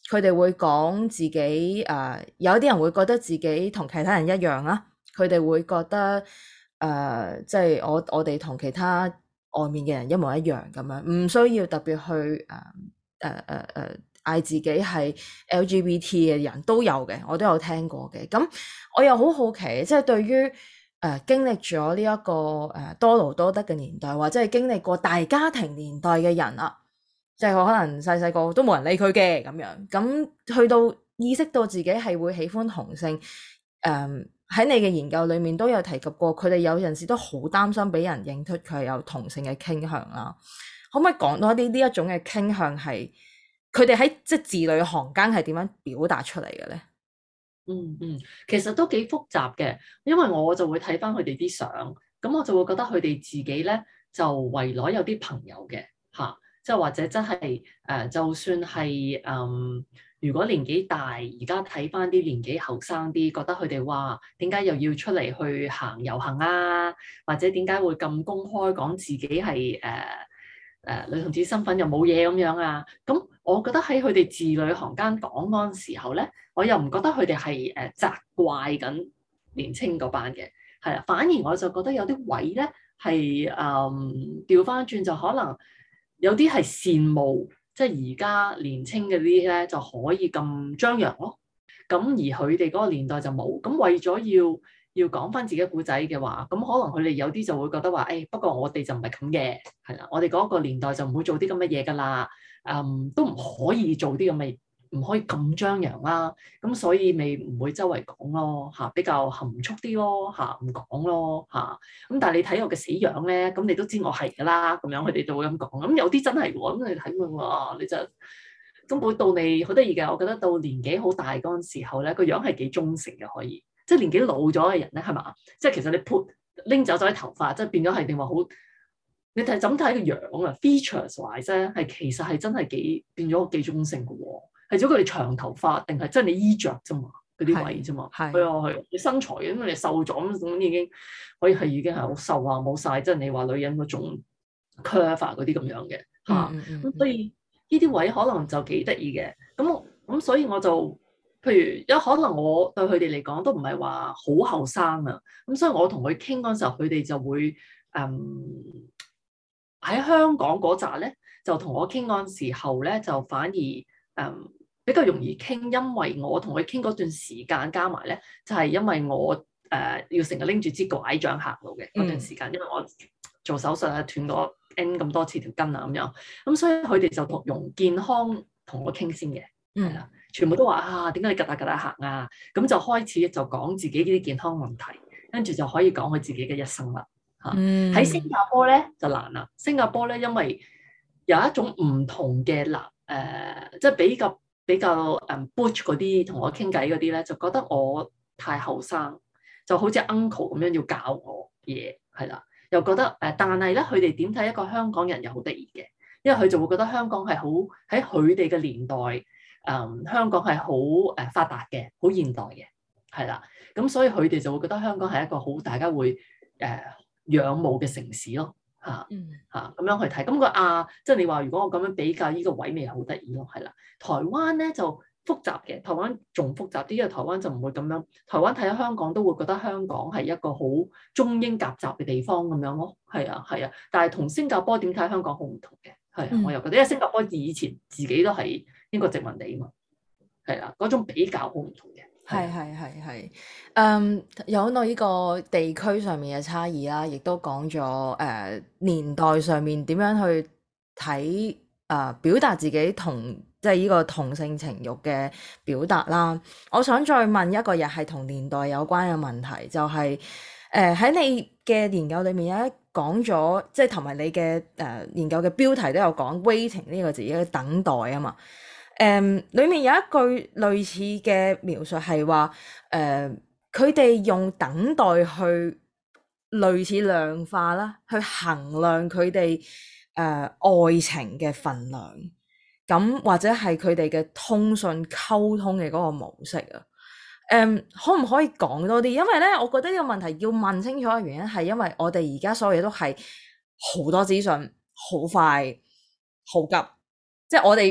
佢哋會講自己誒、呃，有啲人會覺得自己同其他人一樣啦，佢哋會覺得誒，即、呃、係、就是、我我哋同其他外面嘅人一模一樣咁樣，唔需要特別去誒誒誒誒嗌自己係 L G B T 嘅人都有嘅，我都有聽過嘅。咁我又好好奇，即係對於誒、呃、經歷咗呢一個誒、呃、多勞多得嘅年代，或者係經歷過大家庭年代嘅人啊，即係可能細細個都冇人理佢嘅咁樣，咁去到意識到自己係會喜歡同性，誒、呃、喺你嘅研究裏面都有提及過，佢哋有陣時都好擔心俾人認出佢係有同性嘅傾向啦。可唔可以講多啲呢一種嘅傾向係佢哋喺即係字裏行間係點樣表達出嚟嘅咧？ 嗯嗯，其實都幾複雜嘅，因為我就會睇翻佢哋啲相，咁我就會覺得佢哋自己咧就圍內有啲朋友嘅嚇。即係或者真係誒、呃，就算係嗯，如果年紀大，而家睇翻啲年紀後生啲，覺得佢哋哇，點解又要出嚟去行遊行啊？或者點解會咁公開講自己係誒誒女同志身份又冇嘢咁樣啊？咁我覺得喺佢哋字裏行間講嗰陣時候咧，我又唔覺得佢哋係誒責怪緊年青嗰班嘅，係啦，反而我就覺得有啲位咧係誒調翻轉就可能。有啲係羨慕，即係而家年青嘅啲咧就可以咁張揚咯。咁而佢哋嗰個年代就冇。咁為咗要要講翻自己故仔嘅話，咁可能佢哋有啲就會覺得話，誒、哎、不過我哋就唔係咁嘅，係啦，我哋嗰個年代就唔會做啲咁嘅嘢㗎啦。嗯，都唔可以做啲咁嘅。唔可以咁張揚啦，咁所以咪唔會周圍講咯嚇，比較含蓄啲咯嚇，唔講咯嚇。咁但係你睇我嘅死樣咧，咁你都知我係㗎啦，咁樣佢哋就會咁講。咁有啲真係喎，咁你睇佢哇，你就根本到你好得意嘅。我覺得到年紀好大嗰陣時候咧，個樣係幾忠誠嘅，可以即係年紀老咗嘅人咧，係嘛？即係其實你撥拎走咗啲頭髮，即係變咗係定話好。你睇怎睇個樣啊 ？features wise 啫，係其實係真係幾變咗幾忠誠嘅喎。係咗佢哋長頭髮，定係真係你衣着啫嘛？嗰啲位啫嘛。係啊係，你身材因為你瘦咗咁，咁已經可以係已經係好瘦啊，冇晒。即係你話女人嗰種 curve 嗰啲咁樣嘅嚇。咁、嗯嗯嗯、所以呢啲位可能就幾得意嘅。咁咁所以我就譬如有可能我對佢哋嚟講都唔係話好後生啊。咁所以我同佢傾嗰陣時候，佢哋就會誒喺、嗯、香港嗰扎咧，就同我傾嗰陣時候咧，就反而誒。嗯比較容易傾，因為我同佢傾嗰段時間加埋咧，就係、是、因為我誒、呃、要成日拎住支拐杖行路嘅嗰段時間，嗯、因為我做手術啊斷咗 N 咁多次條筋啊咁樣，咁所以佢哋就同用健康同我傾先嘅，係啦、嗯，全部都話啊點解你趌下趌下行啊？咁就開始就講自己呢啲健康問題，跟住就可以講佢自己嘅一生啦嚇。喺、嗯、新加坡咧就難啦，新加坡咧因為有一種唔同嘅男誒，即係比較。比較誒 butch 嗰啲同我傾偈嗰啲咧，就覺得我太後生，就好似 uncle 咁樣要教我嘢，係啦，又覺得誒、呃，但係咧佢哋點睇一個香港人又好得意嘅，因為佢就會覺得香港係好喺佢哋嘅年代，誒、嗯、香港係好誒發達嘅，好現代嘅，係啦，咁所以佢哋就會覺得香港係一個好大家會誒、呃、仰慕嘅城市咯。嚇嚇咁樣去睇，咁、那個啊，即係你話如果我咁樣比較呢個位咪好得意咯，係啦。台灣咧就複雜嘅，台灣仲複雜啲，因為台灣就唔會咁樣。台灣睇香港都會覺得香港係一個好中英夾雜嘅地方咁樣咯，係啊係啊。但係同新加坡點睇香港好唔同嘅，係啊，我又覺得，因為新加坡以前自己都係英國殖民地啊嘛，係啦，嗰種比較好唔同嘅。 係係係係，嗯，有到呢個地區上面嘅差異啦，亦都講咗誒年代上面點樣去睇誒、呃、表達自己同即係呢個同性情慾嘅表達啦。我想再問一個又係同年代有關嘅問題，就係誒喺你嘅研究裏面有一講咗，即係同埋你嘅誒、呃、研究嘅標題都有講 waiting 呢個字，一個等待啊嘛。誒、um, 裡面有一句類似嘅描述係話，誒佢哋用等待去類似量化啦，去衡量佢哋誒愛情嘅份量，咁或者係佢哋嘅通訊溝通嘅嗰個模式啊。誒、um, 可唔可以講多啲？因為咧，我覺得呢個問題要問清楚嘅原因係因為我哋而家所有嘢都係好多資訊，好快，好急，即係我哋。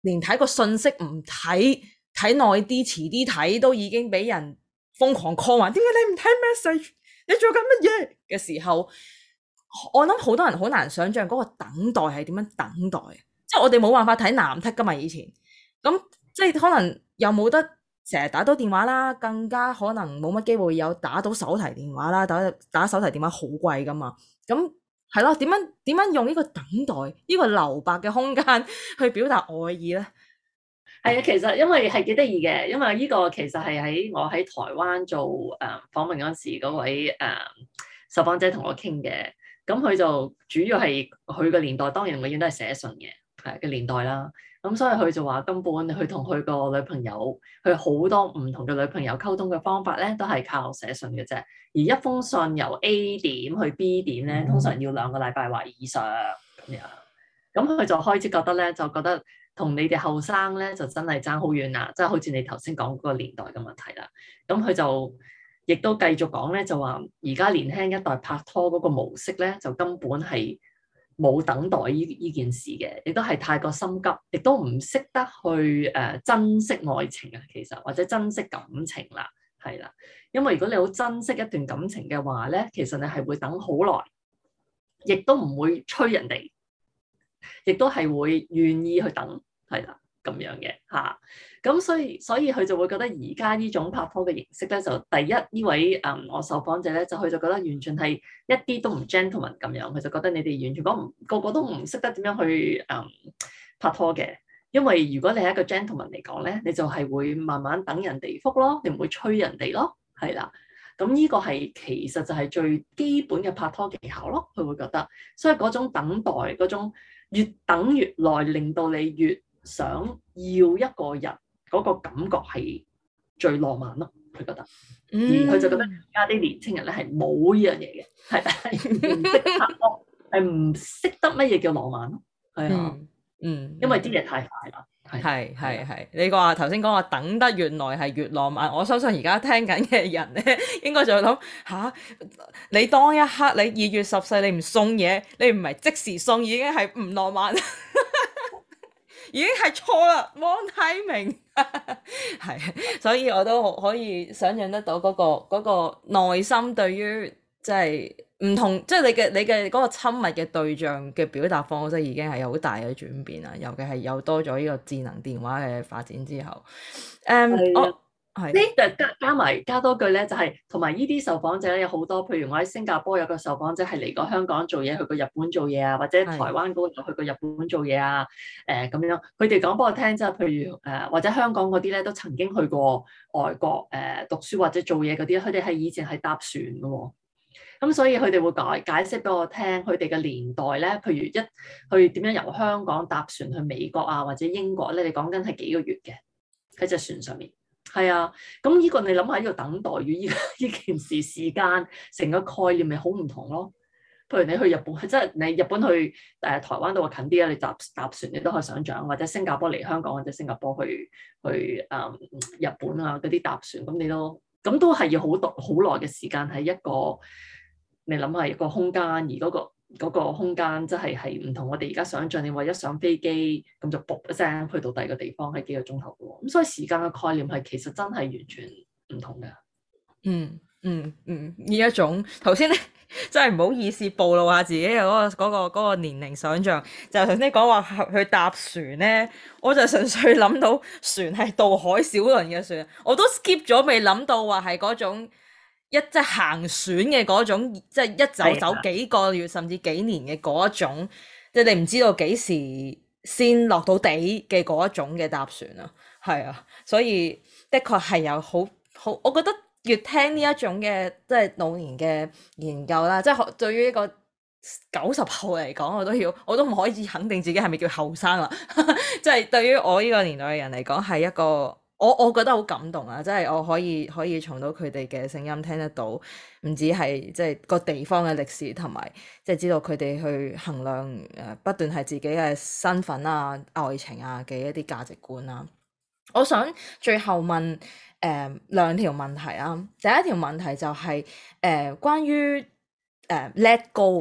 連睇個信息唔睇，睇耐啲遲啲睇都已經俾人瘋狂 call 話，點解你唔睇 message？ 你做緊乜嘢嘅時候，我諗好多人好難想象嗰個等待係點樣等待，即係我哋冇辦法睇藍剔噶嘛以前，咁即係可能又冇得成日打到電話啦，更加可能冇乜機會有打到手提電話啦，打打手提電話好貴噶嘛，咁係咯，點樣點樣用呢個等待呢、呢個留白嘅空間去表達愛意咧？ 係啊，其實因為係幾得意嘅，因為呢個其實係喺我喺台灣做誒、呃、訪問嗰時，嗰位誒、呃、受訪者同我傾嘅，咁佢就主要係佢個年代，當然永遠都係寫信嘅係嘅年代啦。咁所以佢就話根本佢同佢個女朋友，佢好多唔同嘅女朋友溝通嘅方法咧，都係靠寫信嘅啫。而一封信由 A 點去 B 點咧，通常要兩個禮拜或以上咁樣。咁佢就開始覺得咧，就覺得同你哋後生咧就真係爭好遠啦，即係好似你頭先講嗰個年代嘅問題啦。咁佢就亦都繼續講咧，就話而家年輕一代拍拖嗰個模式咧，就根本係冇等待呢呢件事嘅，亦都係太過心急，亦都唔識得去誒、呃、珍惜愛情啊，其實或者珍惜感情啦，係啦。因為如果你好珍惜一段感情嘅話咧，其實你係會等好耐，亦都唔會催人哋，亦都係會願意去等，係啦咁樣嘅嚇。咁所以所以佢就會覺得而家呢種拍拖嘅形式咧，就第一呢位誒、嗯、我受訪者咧，就佢就覺得完全係一啲都唔 gentleman 咁樣，佢就覺得你哋完全講唔個個都唔識得點樣去誒、嗯、拍拖嘅。因為如果你係一個 gentleman 嚟講咧，你就係會慢慢等人哋覆咯，你唔會催人哋咯，係啦。咁呢個係其實就係最基本嘅拍拖技巧咯，佢會覺得。所以嗰種等待嗰種越等越耐，令到你越想要一個人。嗰個感覺係最浪漫咯，佢覺得，而佢就覺得而家啲年青人咧係冇呢樣嘢嘅，係唔識拍拖，係唔識得乜嘢叫浪漫咯，係啊，嗯，因為啲嘢太快啦， 係係係，你話頭先講話等得越耐係越浪漫，我相信而家聽緊嘅人咧，應該就會諗吓，你當一刻你二月十四你唔送嘢，你唔係即時送已經係唔浪漫。已經係錯啦，冇睇明，係，所以我都可以想象得到嗰、嗰個嗰、嗰個內心對於即係唔同，即係你嘅你嘅嗰個親密嘅對象嘅表達方式已經係有好大嘅轉變啦，尤其係有多咗呢個智能電話嘅發展之後，誒、um, 的，我係呢就加加埋加多句咧，就係同埋呢啲受訪者咧有好多，譬如我喺新加坡有個受訪者係嚟過香港做嘢，去過日本做嘢啊，或者台灣嗰度去過日本做嘢啊，誒、呃、咁樣，佢哋講俾我聽，即係譬如誒、呃、或者香港嗰啲咧都曾經去過外國誒、呃、讀書或者做嘢嗰啲，佢哋係以前係搭船嘅喎、哦，咁所以佢哋會解解釋俾我聽，佢哋嘅年代咧，譬如一去點樣由香港搭船去美國啊或者英國咧，你講緊係幾個月嘅喺隻船上面。係啊，咁呢個你諗下呢個等待與呢呢件事時間成個概念咪好唔同咯？譬如你去日本，即係你日本去誒、呃、台灣度近啲啊，你搭搭船你都可以想像，或者新加坡嚟香港或者新加坡去去誒、嗯、日本啊嗰啲搭船，咁你都咁都係要好多好耐嘅時間喺一個你諗下一個空間，而嗰、嗰個。嗰個空間真係係唔同我哋而家想像，你話一上飛機咁就卜一聲去到第二個地方係幾個鐘頭嘅喎，咁所以時間嘅概念係其實真係完全唔同嘅。 嗯嗯嗯，呢一種頭先咧真係唔好意思暴露下自己嘅嗰、嗰個嗰、嗰個嗰個年齡想像，就頭先講話去搭船咧，我就純粹諗到船係渡海小輪嘅船，我都 skip 咗未諗到話係嗰種。一即係行船嘅嗰種，即係一走走幾個月甚至幾年嘅嗰一種，即係你唔知道幾時先落到地嘅嗰一種嘅搭船啊，係啊，所以的確係有好好，我覺得越聽呢一種嘅即係老年嘅研究啦，即係對於一個九十後嚟講，我都要我都唔可以肯定自己係咪叫後生啦，即係對於我呢個年代嘅人嚟講係一個。我我覺得好感動啊！即係我可以可以從到佢哋嘅聲音聽得到，唔止係即係個地方嘅歷史，同埋即係知道佢哋去衡量誒不斷係自己嘅身份啊、愛情啊嘅一啲價值觀啊。我想最後問誒、呃、兩條問題啊。第一條問題就係、是、誒、呃、關於誒、呃、let go 啊，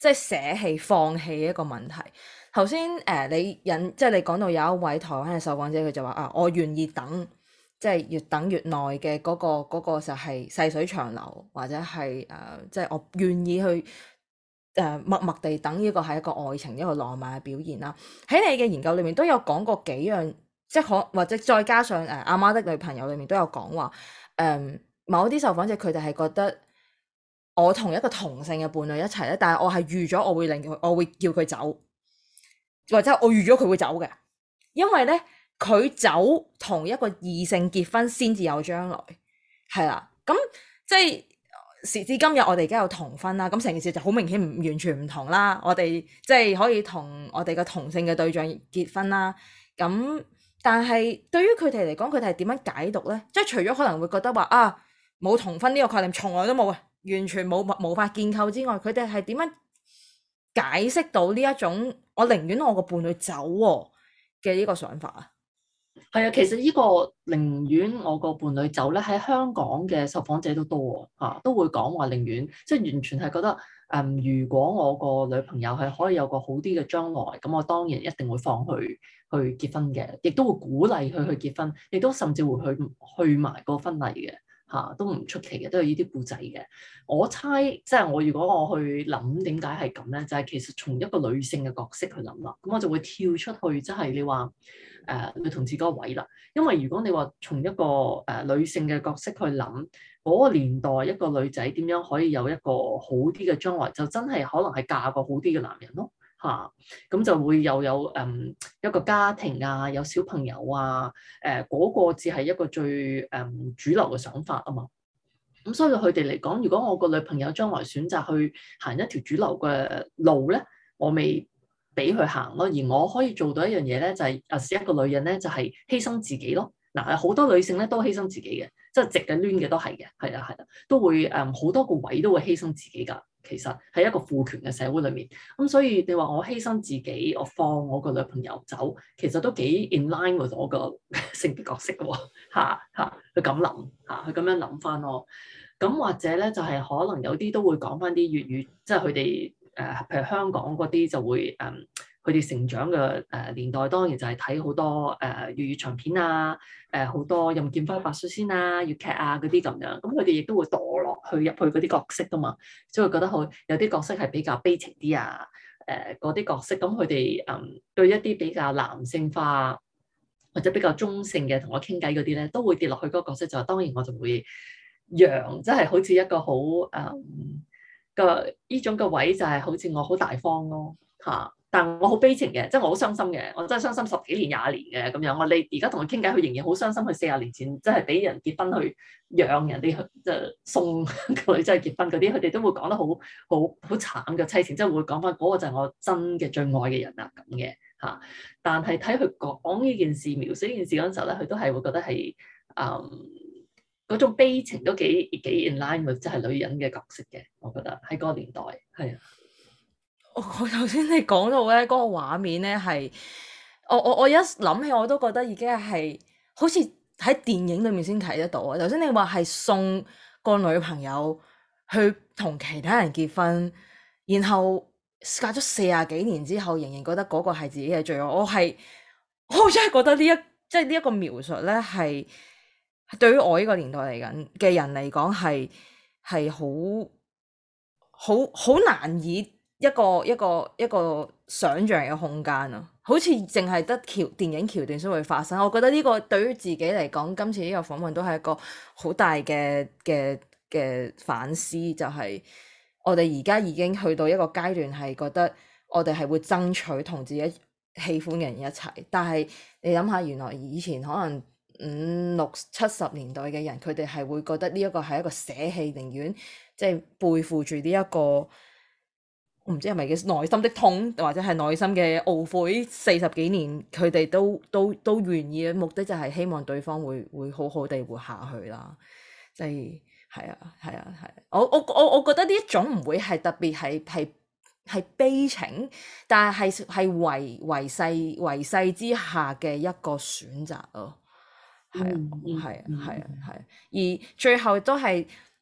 即係捨棄放棄一個問題。頭先誒你引即係你講到有一位台灣嘅受訪者，佢就話啊，我願意等，即係越等越耐嘅嗰個嗰個就係細水長流，或者係誒即係我願意去誒、呃、默默地等，呢個係一個愛情一個浪漫嘅表現啦。喺你嘅研究裏面都有講過幾樣，即係可或者再加上誒阿媽的女朋友裏面都有講話誒某啲受訪者佢哋係覺得我同一個同性嘅伴侶一齊咧，但係我係預咗我會令佢，我會叫佢走。或者我預咗佢會走嘅，因為咧佢走同一個異性結婚先至有將來，係啦。咁即係時至今日，我哋而家有同婚啦，咁成件事就好明顯唔完全唔同啦。我哋即係可以同我哋嘅同性嘅對象結婚啦。咁但係對於佢哋嚟講，佢哋係點樣解讀咧？即係除咗可能會覺得話啊冇同婚呢個概念，從來都冇啊，完全冇無法建構之外，佢哋係點樣解釋到呢一種我寧願我個伴侶走嘅呢個想法啊？ 係啊，其實呢個寧願我個伴侶走咧，喺香港嘅受訪者都多啊，都會講話寧願，即係完全係覺得誒、嗯，如果我個女朋友係可以有個好啲嘅將來，咁我當然一定會放佢去結婚嘅，亦都會鼓勵佢去結婚，亦都甚至會去去埋個婚禮嘅。嚇、啊、都唔出奇嘅，都有呢啲故仔嘅。我猜即係我如果我去諗點解係咁咧，就係、是、其實從一個女性嘅角色去諗啦。咁我就會跳出去，即係你話誒、呃、女同志嗰個位啦。因為如果你話從一個誒、呃、女性嘅角色去諗，嗰、那個年代一個女仔點樣可以有一個好啲嘅將來，就真係可能係嫁個好啲嘅男人咯。嚇，咁、啊、就會又有誒、嗯、一個家庭啊，有小朋友啊，誒、呃、嗰、那個只係一個最誒、嗯、主流嘅想法啊嘛。咁所以佢哋嚟講，如果我個女朋友將來選擇去行一條主流嘅路咧，我未俾佢行咯。而我可以做到一樣嘢咧，就係、是、啊，是一個女人咧，就係、是、犧牲自己咯。嗱、呃，好多女性咧都犧牲自己嘅，即係直嘅攣嘅都係嘅，係啊係啊，都會誒好、嗯、多個位都會犧牲自己㗎。其實喺一個父權嘅社會裏面，咁所以你話我犧牲自己，我放我個女朋友走，其實都幾 in line with 我個性別角色嘅喎，嚇嚇，佢咁諗嚇，佢咁樣諗翻咯。咁或者咧就係、是、可能有啲都會講翻啲粵語，即係佢哋誒，譬如香港嗰啲就會誒，佢、嗯、哋成長嘅誒年代當然就係睇好多誒、呃、粵語長片啊，誒、呃、好多任劍輝白雪仙啊、粵劇啊嗰啲咁樣，咁佢哋亦都會墮落去入去嗰啲角色噶嘛，所以覺得好有啲角色係比較悲情啲啊，誒嗰啲角色，咁佢哋誒對一啲比較男性化或者比較中性嘅同我傾偈嗰啲咧，都會跌落去嗰個角色，就當然我就會讓，即係好似一個好誒。嗯個呢種嘅位就係好似我好大方咯嚇，但我好悲情嘅，即係我好傷心嘅，我真係傷心十幾年廿年嘅咁樣。我你而家同佢傾偈，佢仍然好傷心。佢四十年前即係俾人結婚去讓人哋去即係送個女仔去結婚嗰啲，佢哋都會講得好好好慘嘅妻情，即係會講翻嗰個就係我真嘅最愛嘅人啊咁嘅嚇。但係睇佢講呢件事、描述呢件事嗰陣時候咧，佢都係會覺得係嗯。嗰種悲情都幾幾 in line with 即係女人嘅角色嘅，我覺得喺嗰個年代係啊。 我頭先你講到咧嗰個畫面咧係，我我我一諗起我都覺得已經係好似喺電影裏面先睇得到啊！頭先你話係送個女朋友去同其他人結婚，然後隔咗四十幾年之後，仍然覺得嗰個係自己嘅罪惡。我係我真係覺得呢一即係呢一個描述咧係。對於我呢個年代嚟緊嘅人嚟講，係係好好好難以一個一個一個想像嘅空間啊！好似淨係得橋電影橋段先會發生。我覺得呢個對於自己嚟講，今次呢個訪問都係一個好大嘅嘅嘅反思，就係我哋而家已經去到一個階段，係覺得我哋係會爭取同自己喜歡嘅人一齊，但係你諗下，原來以前可能五六七十年代嘅人，佢哋係會覺得呢一個係一個捨棄，寧願即係背負住呢一個，我唔知係咪叫內心的痛，或者係內心嘅懊悔。四十幾年，佢哋都都都願意嘅目的就係希望對方會會好好地活下去啦。即係係啊係啊係、啊，我我我我覺得呢一種唔會係特別係係係悲情，但係係係為為世為世之下嘅一個選擇咯。係啊，係啊，係啊，係啊，而最後都係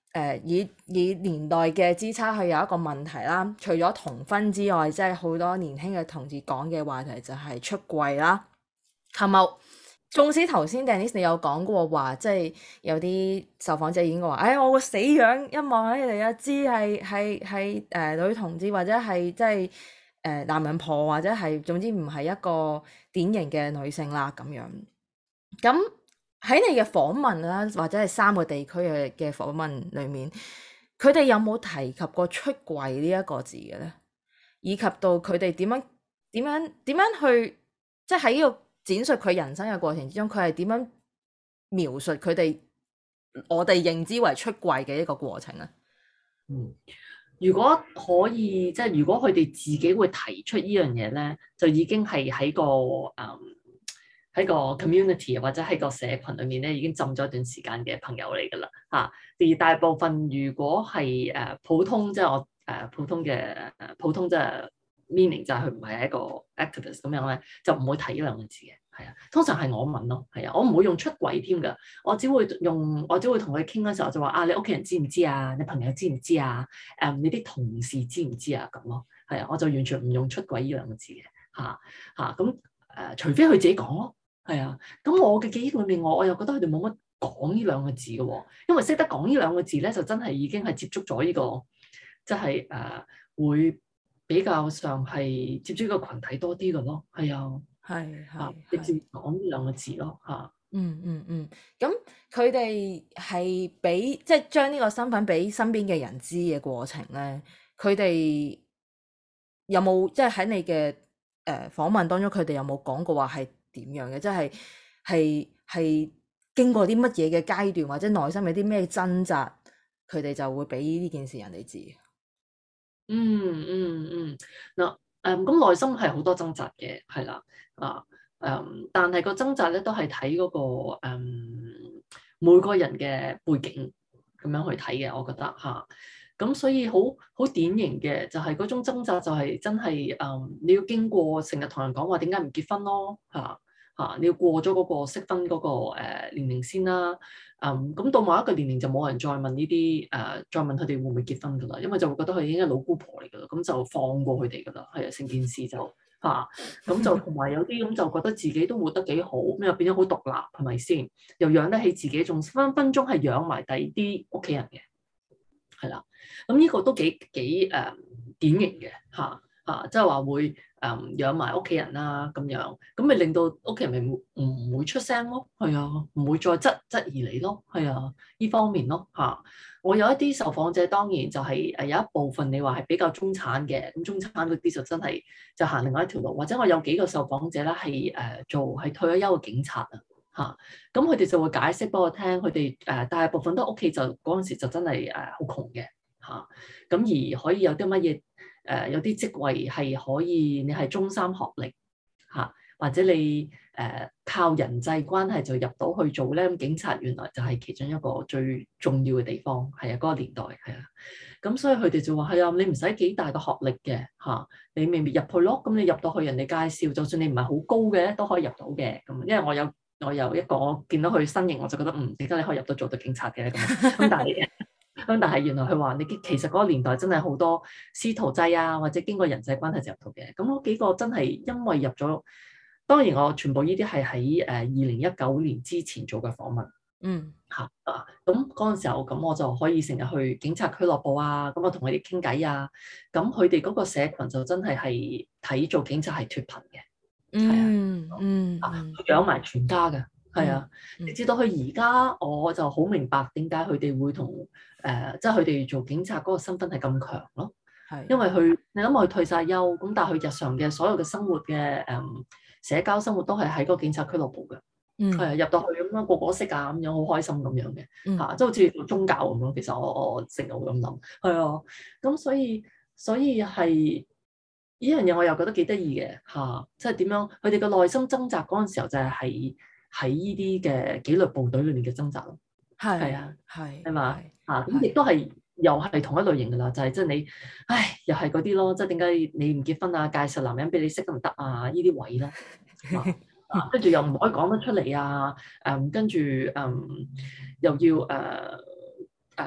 誒以以年代嘅支差去有一個問題啦。除咗同婚之外，即係好多年輕嘅同志講嘅話題就係出櫃啦。係咪？縱使頭先 Dennis 你有講過話，即係有啲受訪者已經話，哎，我個死樣一望起嚟啊，知係係係誒女同志或者係即係誒男人婆或者係總之唔係一個典型嘅女性啦咁樣。咁喺你嘅訪問啦，或者係三個地區嘅嘅訪問裡面，佢哋有冇提及過出櫃呢一個字嘅咧？以及到佢哋點樣點樣點樣去即係喺呢個展述佢人生嘅過程之中，佢係點樣描述佢哋我哋認知為出櫃嘅一個過程咧？ 嗯，如果可以，即係如果佢哋自己會提出呢樣嘢咧，就已經係喺個誒喺個 community 或者喺個社群裏面咧，已經浸咗一段時間嘅朋友嚟㗎啦嚇。而大部分如果係誒普通，即係我誒普通嘅誒普通即係 meaning 就係佢唔係一個 activist 咁樣咧，就唔會提呢兩個字嘅。係啊，通常係我問咯，係啊，我唔會用出櫃添㗎，我只會用，我只會同佢傾嗰時候就話啊，你屋企人知唔知啊？你朋友知唔知啊？誒、嗯，你啲同事知唔知啊？咁咯，係啊，我就完全唔用出櫃呢兩個字嘅，嚇嚇咁誒，除非佢自己講咯，係啊，咁我嘅記憶裏面，我我又覺得佢哋冇乜講呢兩個字嘅喎，因為識得講呢兩個字咧，就真係已經係接觸咗呢、這個，即係誒會比較上係接觸呢個群體多啲嘅咯，係啊。 係係， 直接講呢兩個字咯嚇。 嗯嗯嗯，咁佢哋係俾即係將呢個身份俾身邊嘅人知嘅過程咧，佢哋有冇即係喺你嘅誒訪問當中，佢哋有冇講過話係點樣嘅？即係係係經過啲乜嘢嘅階段，或者內心有啲咩掙扎，佢哋就會俾呢件事人哋知。 嗯嗯嗯，嗱誒咁內心係好多掙扎嘅，係啦啊誒、嗯，但係個掙扎咧都係睇嗰個、嗯、每個人嘅背景咁樣去睇嘅，我覺得嚇。咁、啊、所以好好典型嘅就係嗰種掙扎就係真係誒、嗯、你要經過成日同人講話點解唔結婚咯嚇。啊啊！你要過咗嗰個適婚嗰個誒年齡先啦，嗯，咁到某一個年齡就冇人再問呢啲誒，再問佢哋會唔會結婚噶啦，因為就會覺得佢已經係老姑婆嚟噶啦，咁就放過佢哋噶啦，係啊，成件事就嚇，咁就同埋有啲咁就覺得自己都活得幾好，咁又變咗好獨立，係咪先？又養得起自己，仲分分鐘係養埋第二啲屋企人嘅，係啦，咁呢個都幾幾誒、呃、典型嘅嚇。啊，即係話會誒、嗯、養埋屋企人啦，咁樣咁咪令到屋企人咪唔唔會出聲咯，係啊，唔會再質質疑你咯，係啊，呢方面咯嚇、啊。我有一啲受訪者當然就係、是、誒有一部分你話係比較中產嘅，咁中產嗰啲就真係就行另外一條路，或者我有幾個受訪者咧係誒做係退咗休嘅警察啊嚇，咁佢哋就會解釋俾我聽，佢哋誒大部分都屋企就嗰陣時就真係誒好窮嘅嚇，咁、啊、而可以有啲乜嘢？誒、呃、有啲職位係可以，你係中三學歷嚇、啊，或者你誒、呃、靠人際關係就入到去做咧。咁警察原來就係其中一個最重要嘅地方，係啊，嗰、那個年代係啊。咁所以佢哋就話係啊，你唔使幾大個學歷嘅嚇、啊，你未必入去咯。咁你入到去人哋介紹，就算你唔係好高嘅都可以入到嘅。咁因為我有我有一個我見到佢身形，我就覺得嗯，點解你可以入到做到警察嘅咁？咁但係。咁但係原來佢話你其實嗰個年代真係好多師徒制啊，或者經過人際關係就入到嘅。咁嗰幾個真係因為入咗，當然我全部呢啲係喺誒二零一九年之前做嘅訪問。嗯，嚇啊，咁嗰陣時候咁我就可以成日去警察俱樂部啊，咁我同佢哋傾偈啊。咁佢哋嗰個社群就真係係睇做警察係脫貧嘅。 嗯嗯啊，養埋全家嘅。係啊， 嗯、 直至到佢而家，我就好明白點解佢哋會同誒，即係佢哋做警察嗰個身份係咁強咯。係，因為佢你諗佢退晒休，咁但係佢日常嘅所有嘅生活嘅誒、嗯、社交生活都係喺嗰個警察俱樂部嘅。嗯，係啊，入到去咁樣個個識啊，咁樣好開心咁樣嘅嚇，即係、嗯啊、好似做宗教咁樣。其實我我成日會咁諗，係啊，咁所以所以係呢樣嘢，我又覺得幾得意嘅嚇，即係點樣佢哋嘅內心掙扎嗰陣時候就係喺。喺呢啲嘅紀律部隊裏面嘅掙扎咯，係係啊，係係嘛啊，咁亦都係又係同一類型噶啦，就係即係你，唉，又係嗰啲咯，即係點解你唔結婚啊？介紹男人俾你識都唔得啊？呢啲位啦，跟住又唔可以講得出嚟啊，誒、嗯，跟住誒、嗯、又要誒誒、呃呃，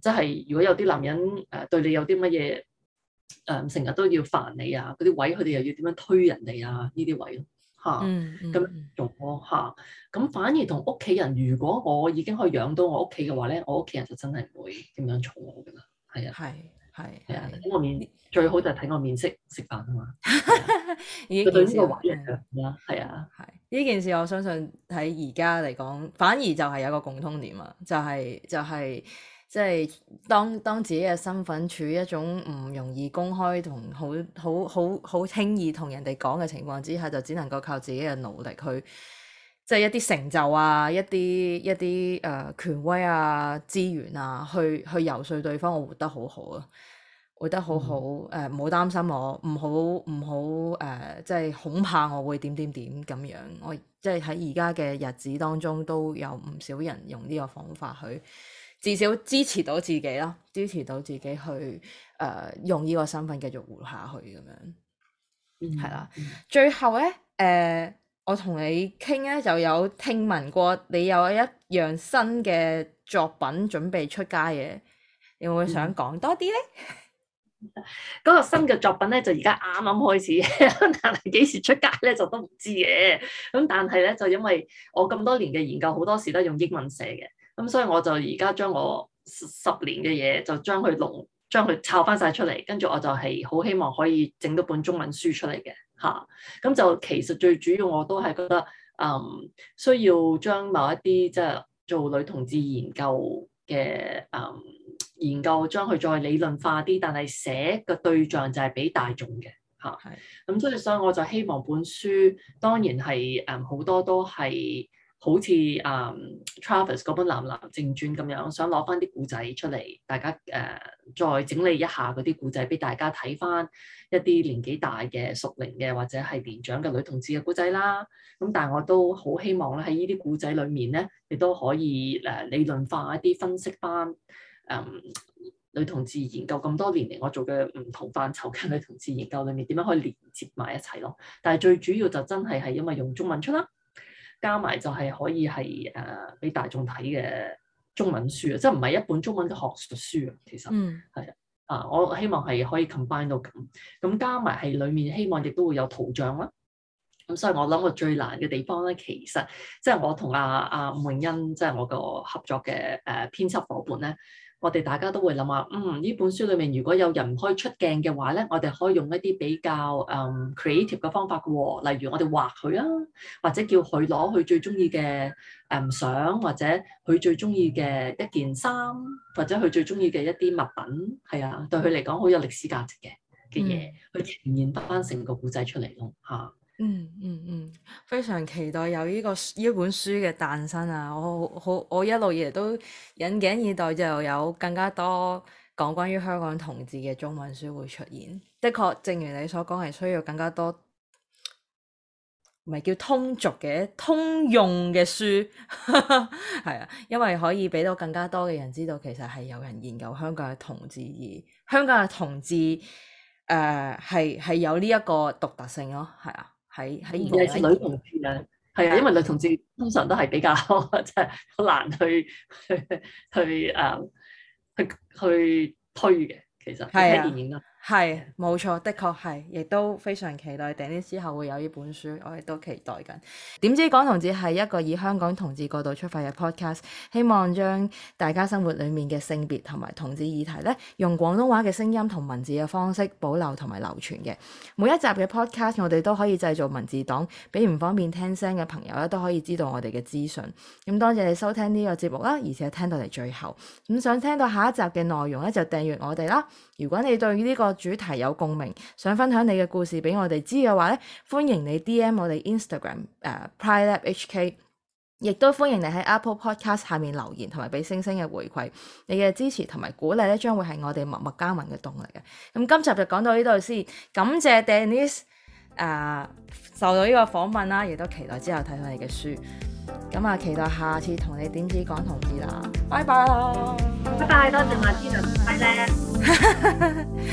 即係如果有啲男人誒、呃、對你有啲乜嘢誒成日都要煩你啊，嗰啲位佢哋又要點樣推人哋啊？呢啲位咯嚇，咁用咯嚇。咁反而同屋企人，如果我已經可以養到我屋企嘅話咧，我屋企人就真係唔會點樣嘈我噶啦。係啊， 係係係啊，睇我面最好就係睇我面色食飯啊嘛。 呢件事係啊，係啊， 係呢件事我相信喺而家嚟講，反而就係有個共通點啊，就係、是、就係即係當當自己嘅身份處於一種唔容易公開同好好好好輕易同人哋講嘅情況之下，就只能夠靠自己嘅努力去。即係一啲成就啊，一啲一啲誒、呃、權威啊、資源啊，去去遊說對方，我活得好好啊，活得好好誒，唔好擔心我，唔好唔好誒，即係恐怕我會點點點咁樣。我即係喺而家嘅日子當中，都有唔少人用呢個方法去，至少支持到自己啦，支持到自己去誒、呃、用呢個身份繼續活下去咁樣，係啦、嗯。最後咧誒。呃我同你傾咧，就有聽聞過你有一樣新嘅作品準備出街嘅，你會唔會想講多啲咧？ 嗰、嗯、個新嘅作品咧，就而家啱啱開始，但係幾時出街咧就都唔知嘅。咁但係咧，就因為我咁多年嘅研究，好多時都係用英文寫嘅，咁所以我就而家將我十年嘅嘢就將佢濃，將佢抄翻晒出嚟，跟住我就係好希望可以整到本中文書出嚟嘅。嚇，咁、啊、就其實最主要我都係覺得，嗯，需要將某一啲即係做女同志研究嘅，嗯，研究將佢再理論化啲，但係寫嘅對象就係俾大眾嘅，嚇、啊。係。咁所以所以我就希望本書當然係誒好多都係好似誒、嗯、Travis 嗰本《男男正傳》咁樣，想攞翻啲故仔出嚟，大家誒、呃、再整理一下嗰啲故仔俾大家睇翻。一啲年紀大嘅熟齡嘅或者係年長嘅女同志嘅故仔啦，咁但係我都好希望咧喺呢啲故仔裏面咧，亦都可以誒理論化一啲分析翻誒、嗯、女同志研究咁多年嚟我做嘅唔同範疇嘅女同志研究裏面點樣可以連接埋一齊咯。但係最主要就真係係因為用中文出啦，加埋就係可以係誒俾大眾睇嘅中文書啊，即係唔係一本中文嘅學術書啊，其實係啊。啊！我希望係可以 combine 到咁，咁加埋係裡面希望亦都會有圖像啦。咁所以我諗個最難嘅地方咧，其實即係我同阿阿吳詠欣，即係我個合作嘅誒編輯夥伴咧，我哋大家都會諗下，嗯，呢本書裡面如果有人唔可以出鏡嘅話咧，我哋可以用一啲比較誒、um, creative 嘅方法嘅喎，例如我哋畫佢啊，或者叫佢攞佢最中意嘅誒相，或者佢最中意嘅一件衫，或者佢最中意嘅一啲物品，係啊，對佢嚟講好有歷史價值嘅嘅嘢，嗯、去呈現翻成個故仔出嚟咯嚇。 嗯嗯嗯，非常期待有呢、這個呢本書嘅誕生啊！我好我一路以嚟都引頸以待，就有更加多講關於香港同志嘅中文書會出現。的確，正如你所講，係需要更加多，唔係叫通俗嘅通用嘅書，係啊，因為可以俾到更加多嘅人知道，其實係有人研究香港嘅同志，而香港嘅同志誒係係有呢一個獨特性咯，係啊。喺喺尤其是女同志啊，係啊，因為女同志通常都係比較即係好難去去去誒、uh, 去去推嘅，其實睇電影啦。 係冇錯，的確係，亦都非常期待Denise之後會有呢本書，我亦都期待緊。點知講同志係一個以香港同志角度出發嘅 podcast， 希望將大家生活裡面嘅性別同埋同志議題咧，用廣東話嘅聲音同文字嘅方式保留同埋流傳嘅。每一集嘅 podcast 我哋都可以製造文字檔，俾唔方便聽聲嘅朋友咧都可以知道我哋嘅資訊。咁多謝你收聽呢個節目啦，而且聽到嚟最後。咁想聽到下一集嘅內容咧，就訂閱我哋啦。如果你對呢個主題有共鳴，想分享你嘅故事俾我哋知嘅話咧，歡迎你 D M 我哋 Instagram 誒、uh, Pride Lab H K， 亦都歡迎你喺 Apple Podcast 下面留言同埋俾星星嘅回饋，你嘅支持同埋鼓勵咧，將會係我哋默默耕耘嘅動力嘅。咁今集就講到呢度先，感謝 Denise 誒、uh, 受到呢個訪問啦，亦都期待之後睇到你嘅書。咁啊，期待下次同你點止講同志啦，拜拜啦， 拜拜，多謝馬天啊，拜拜。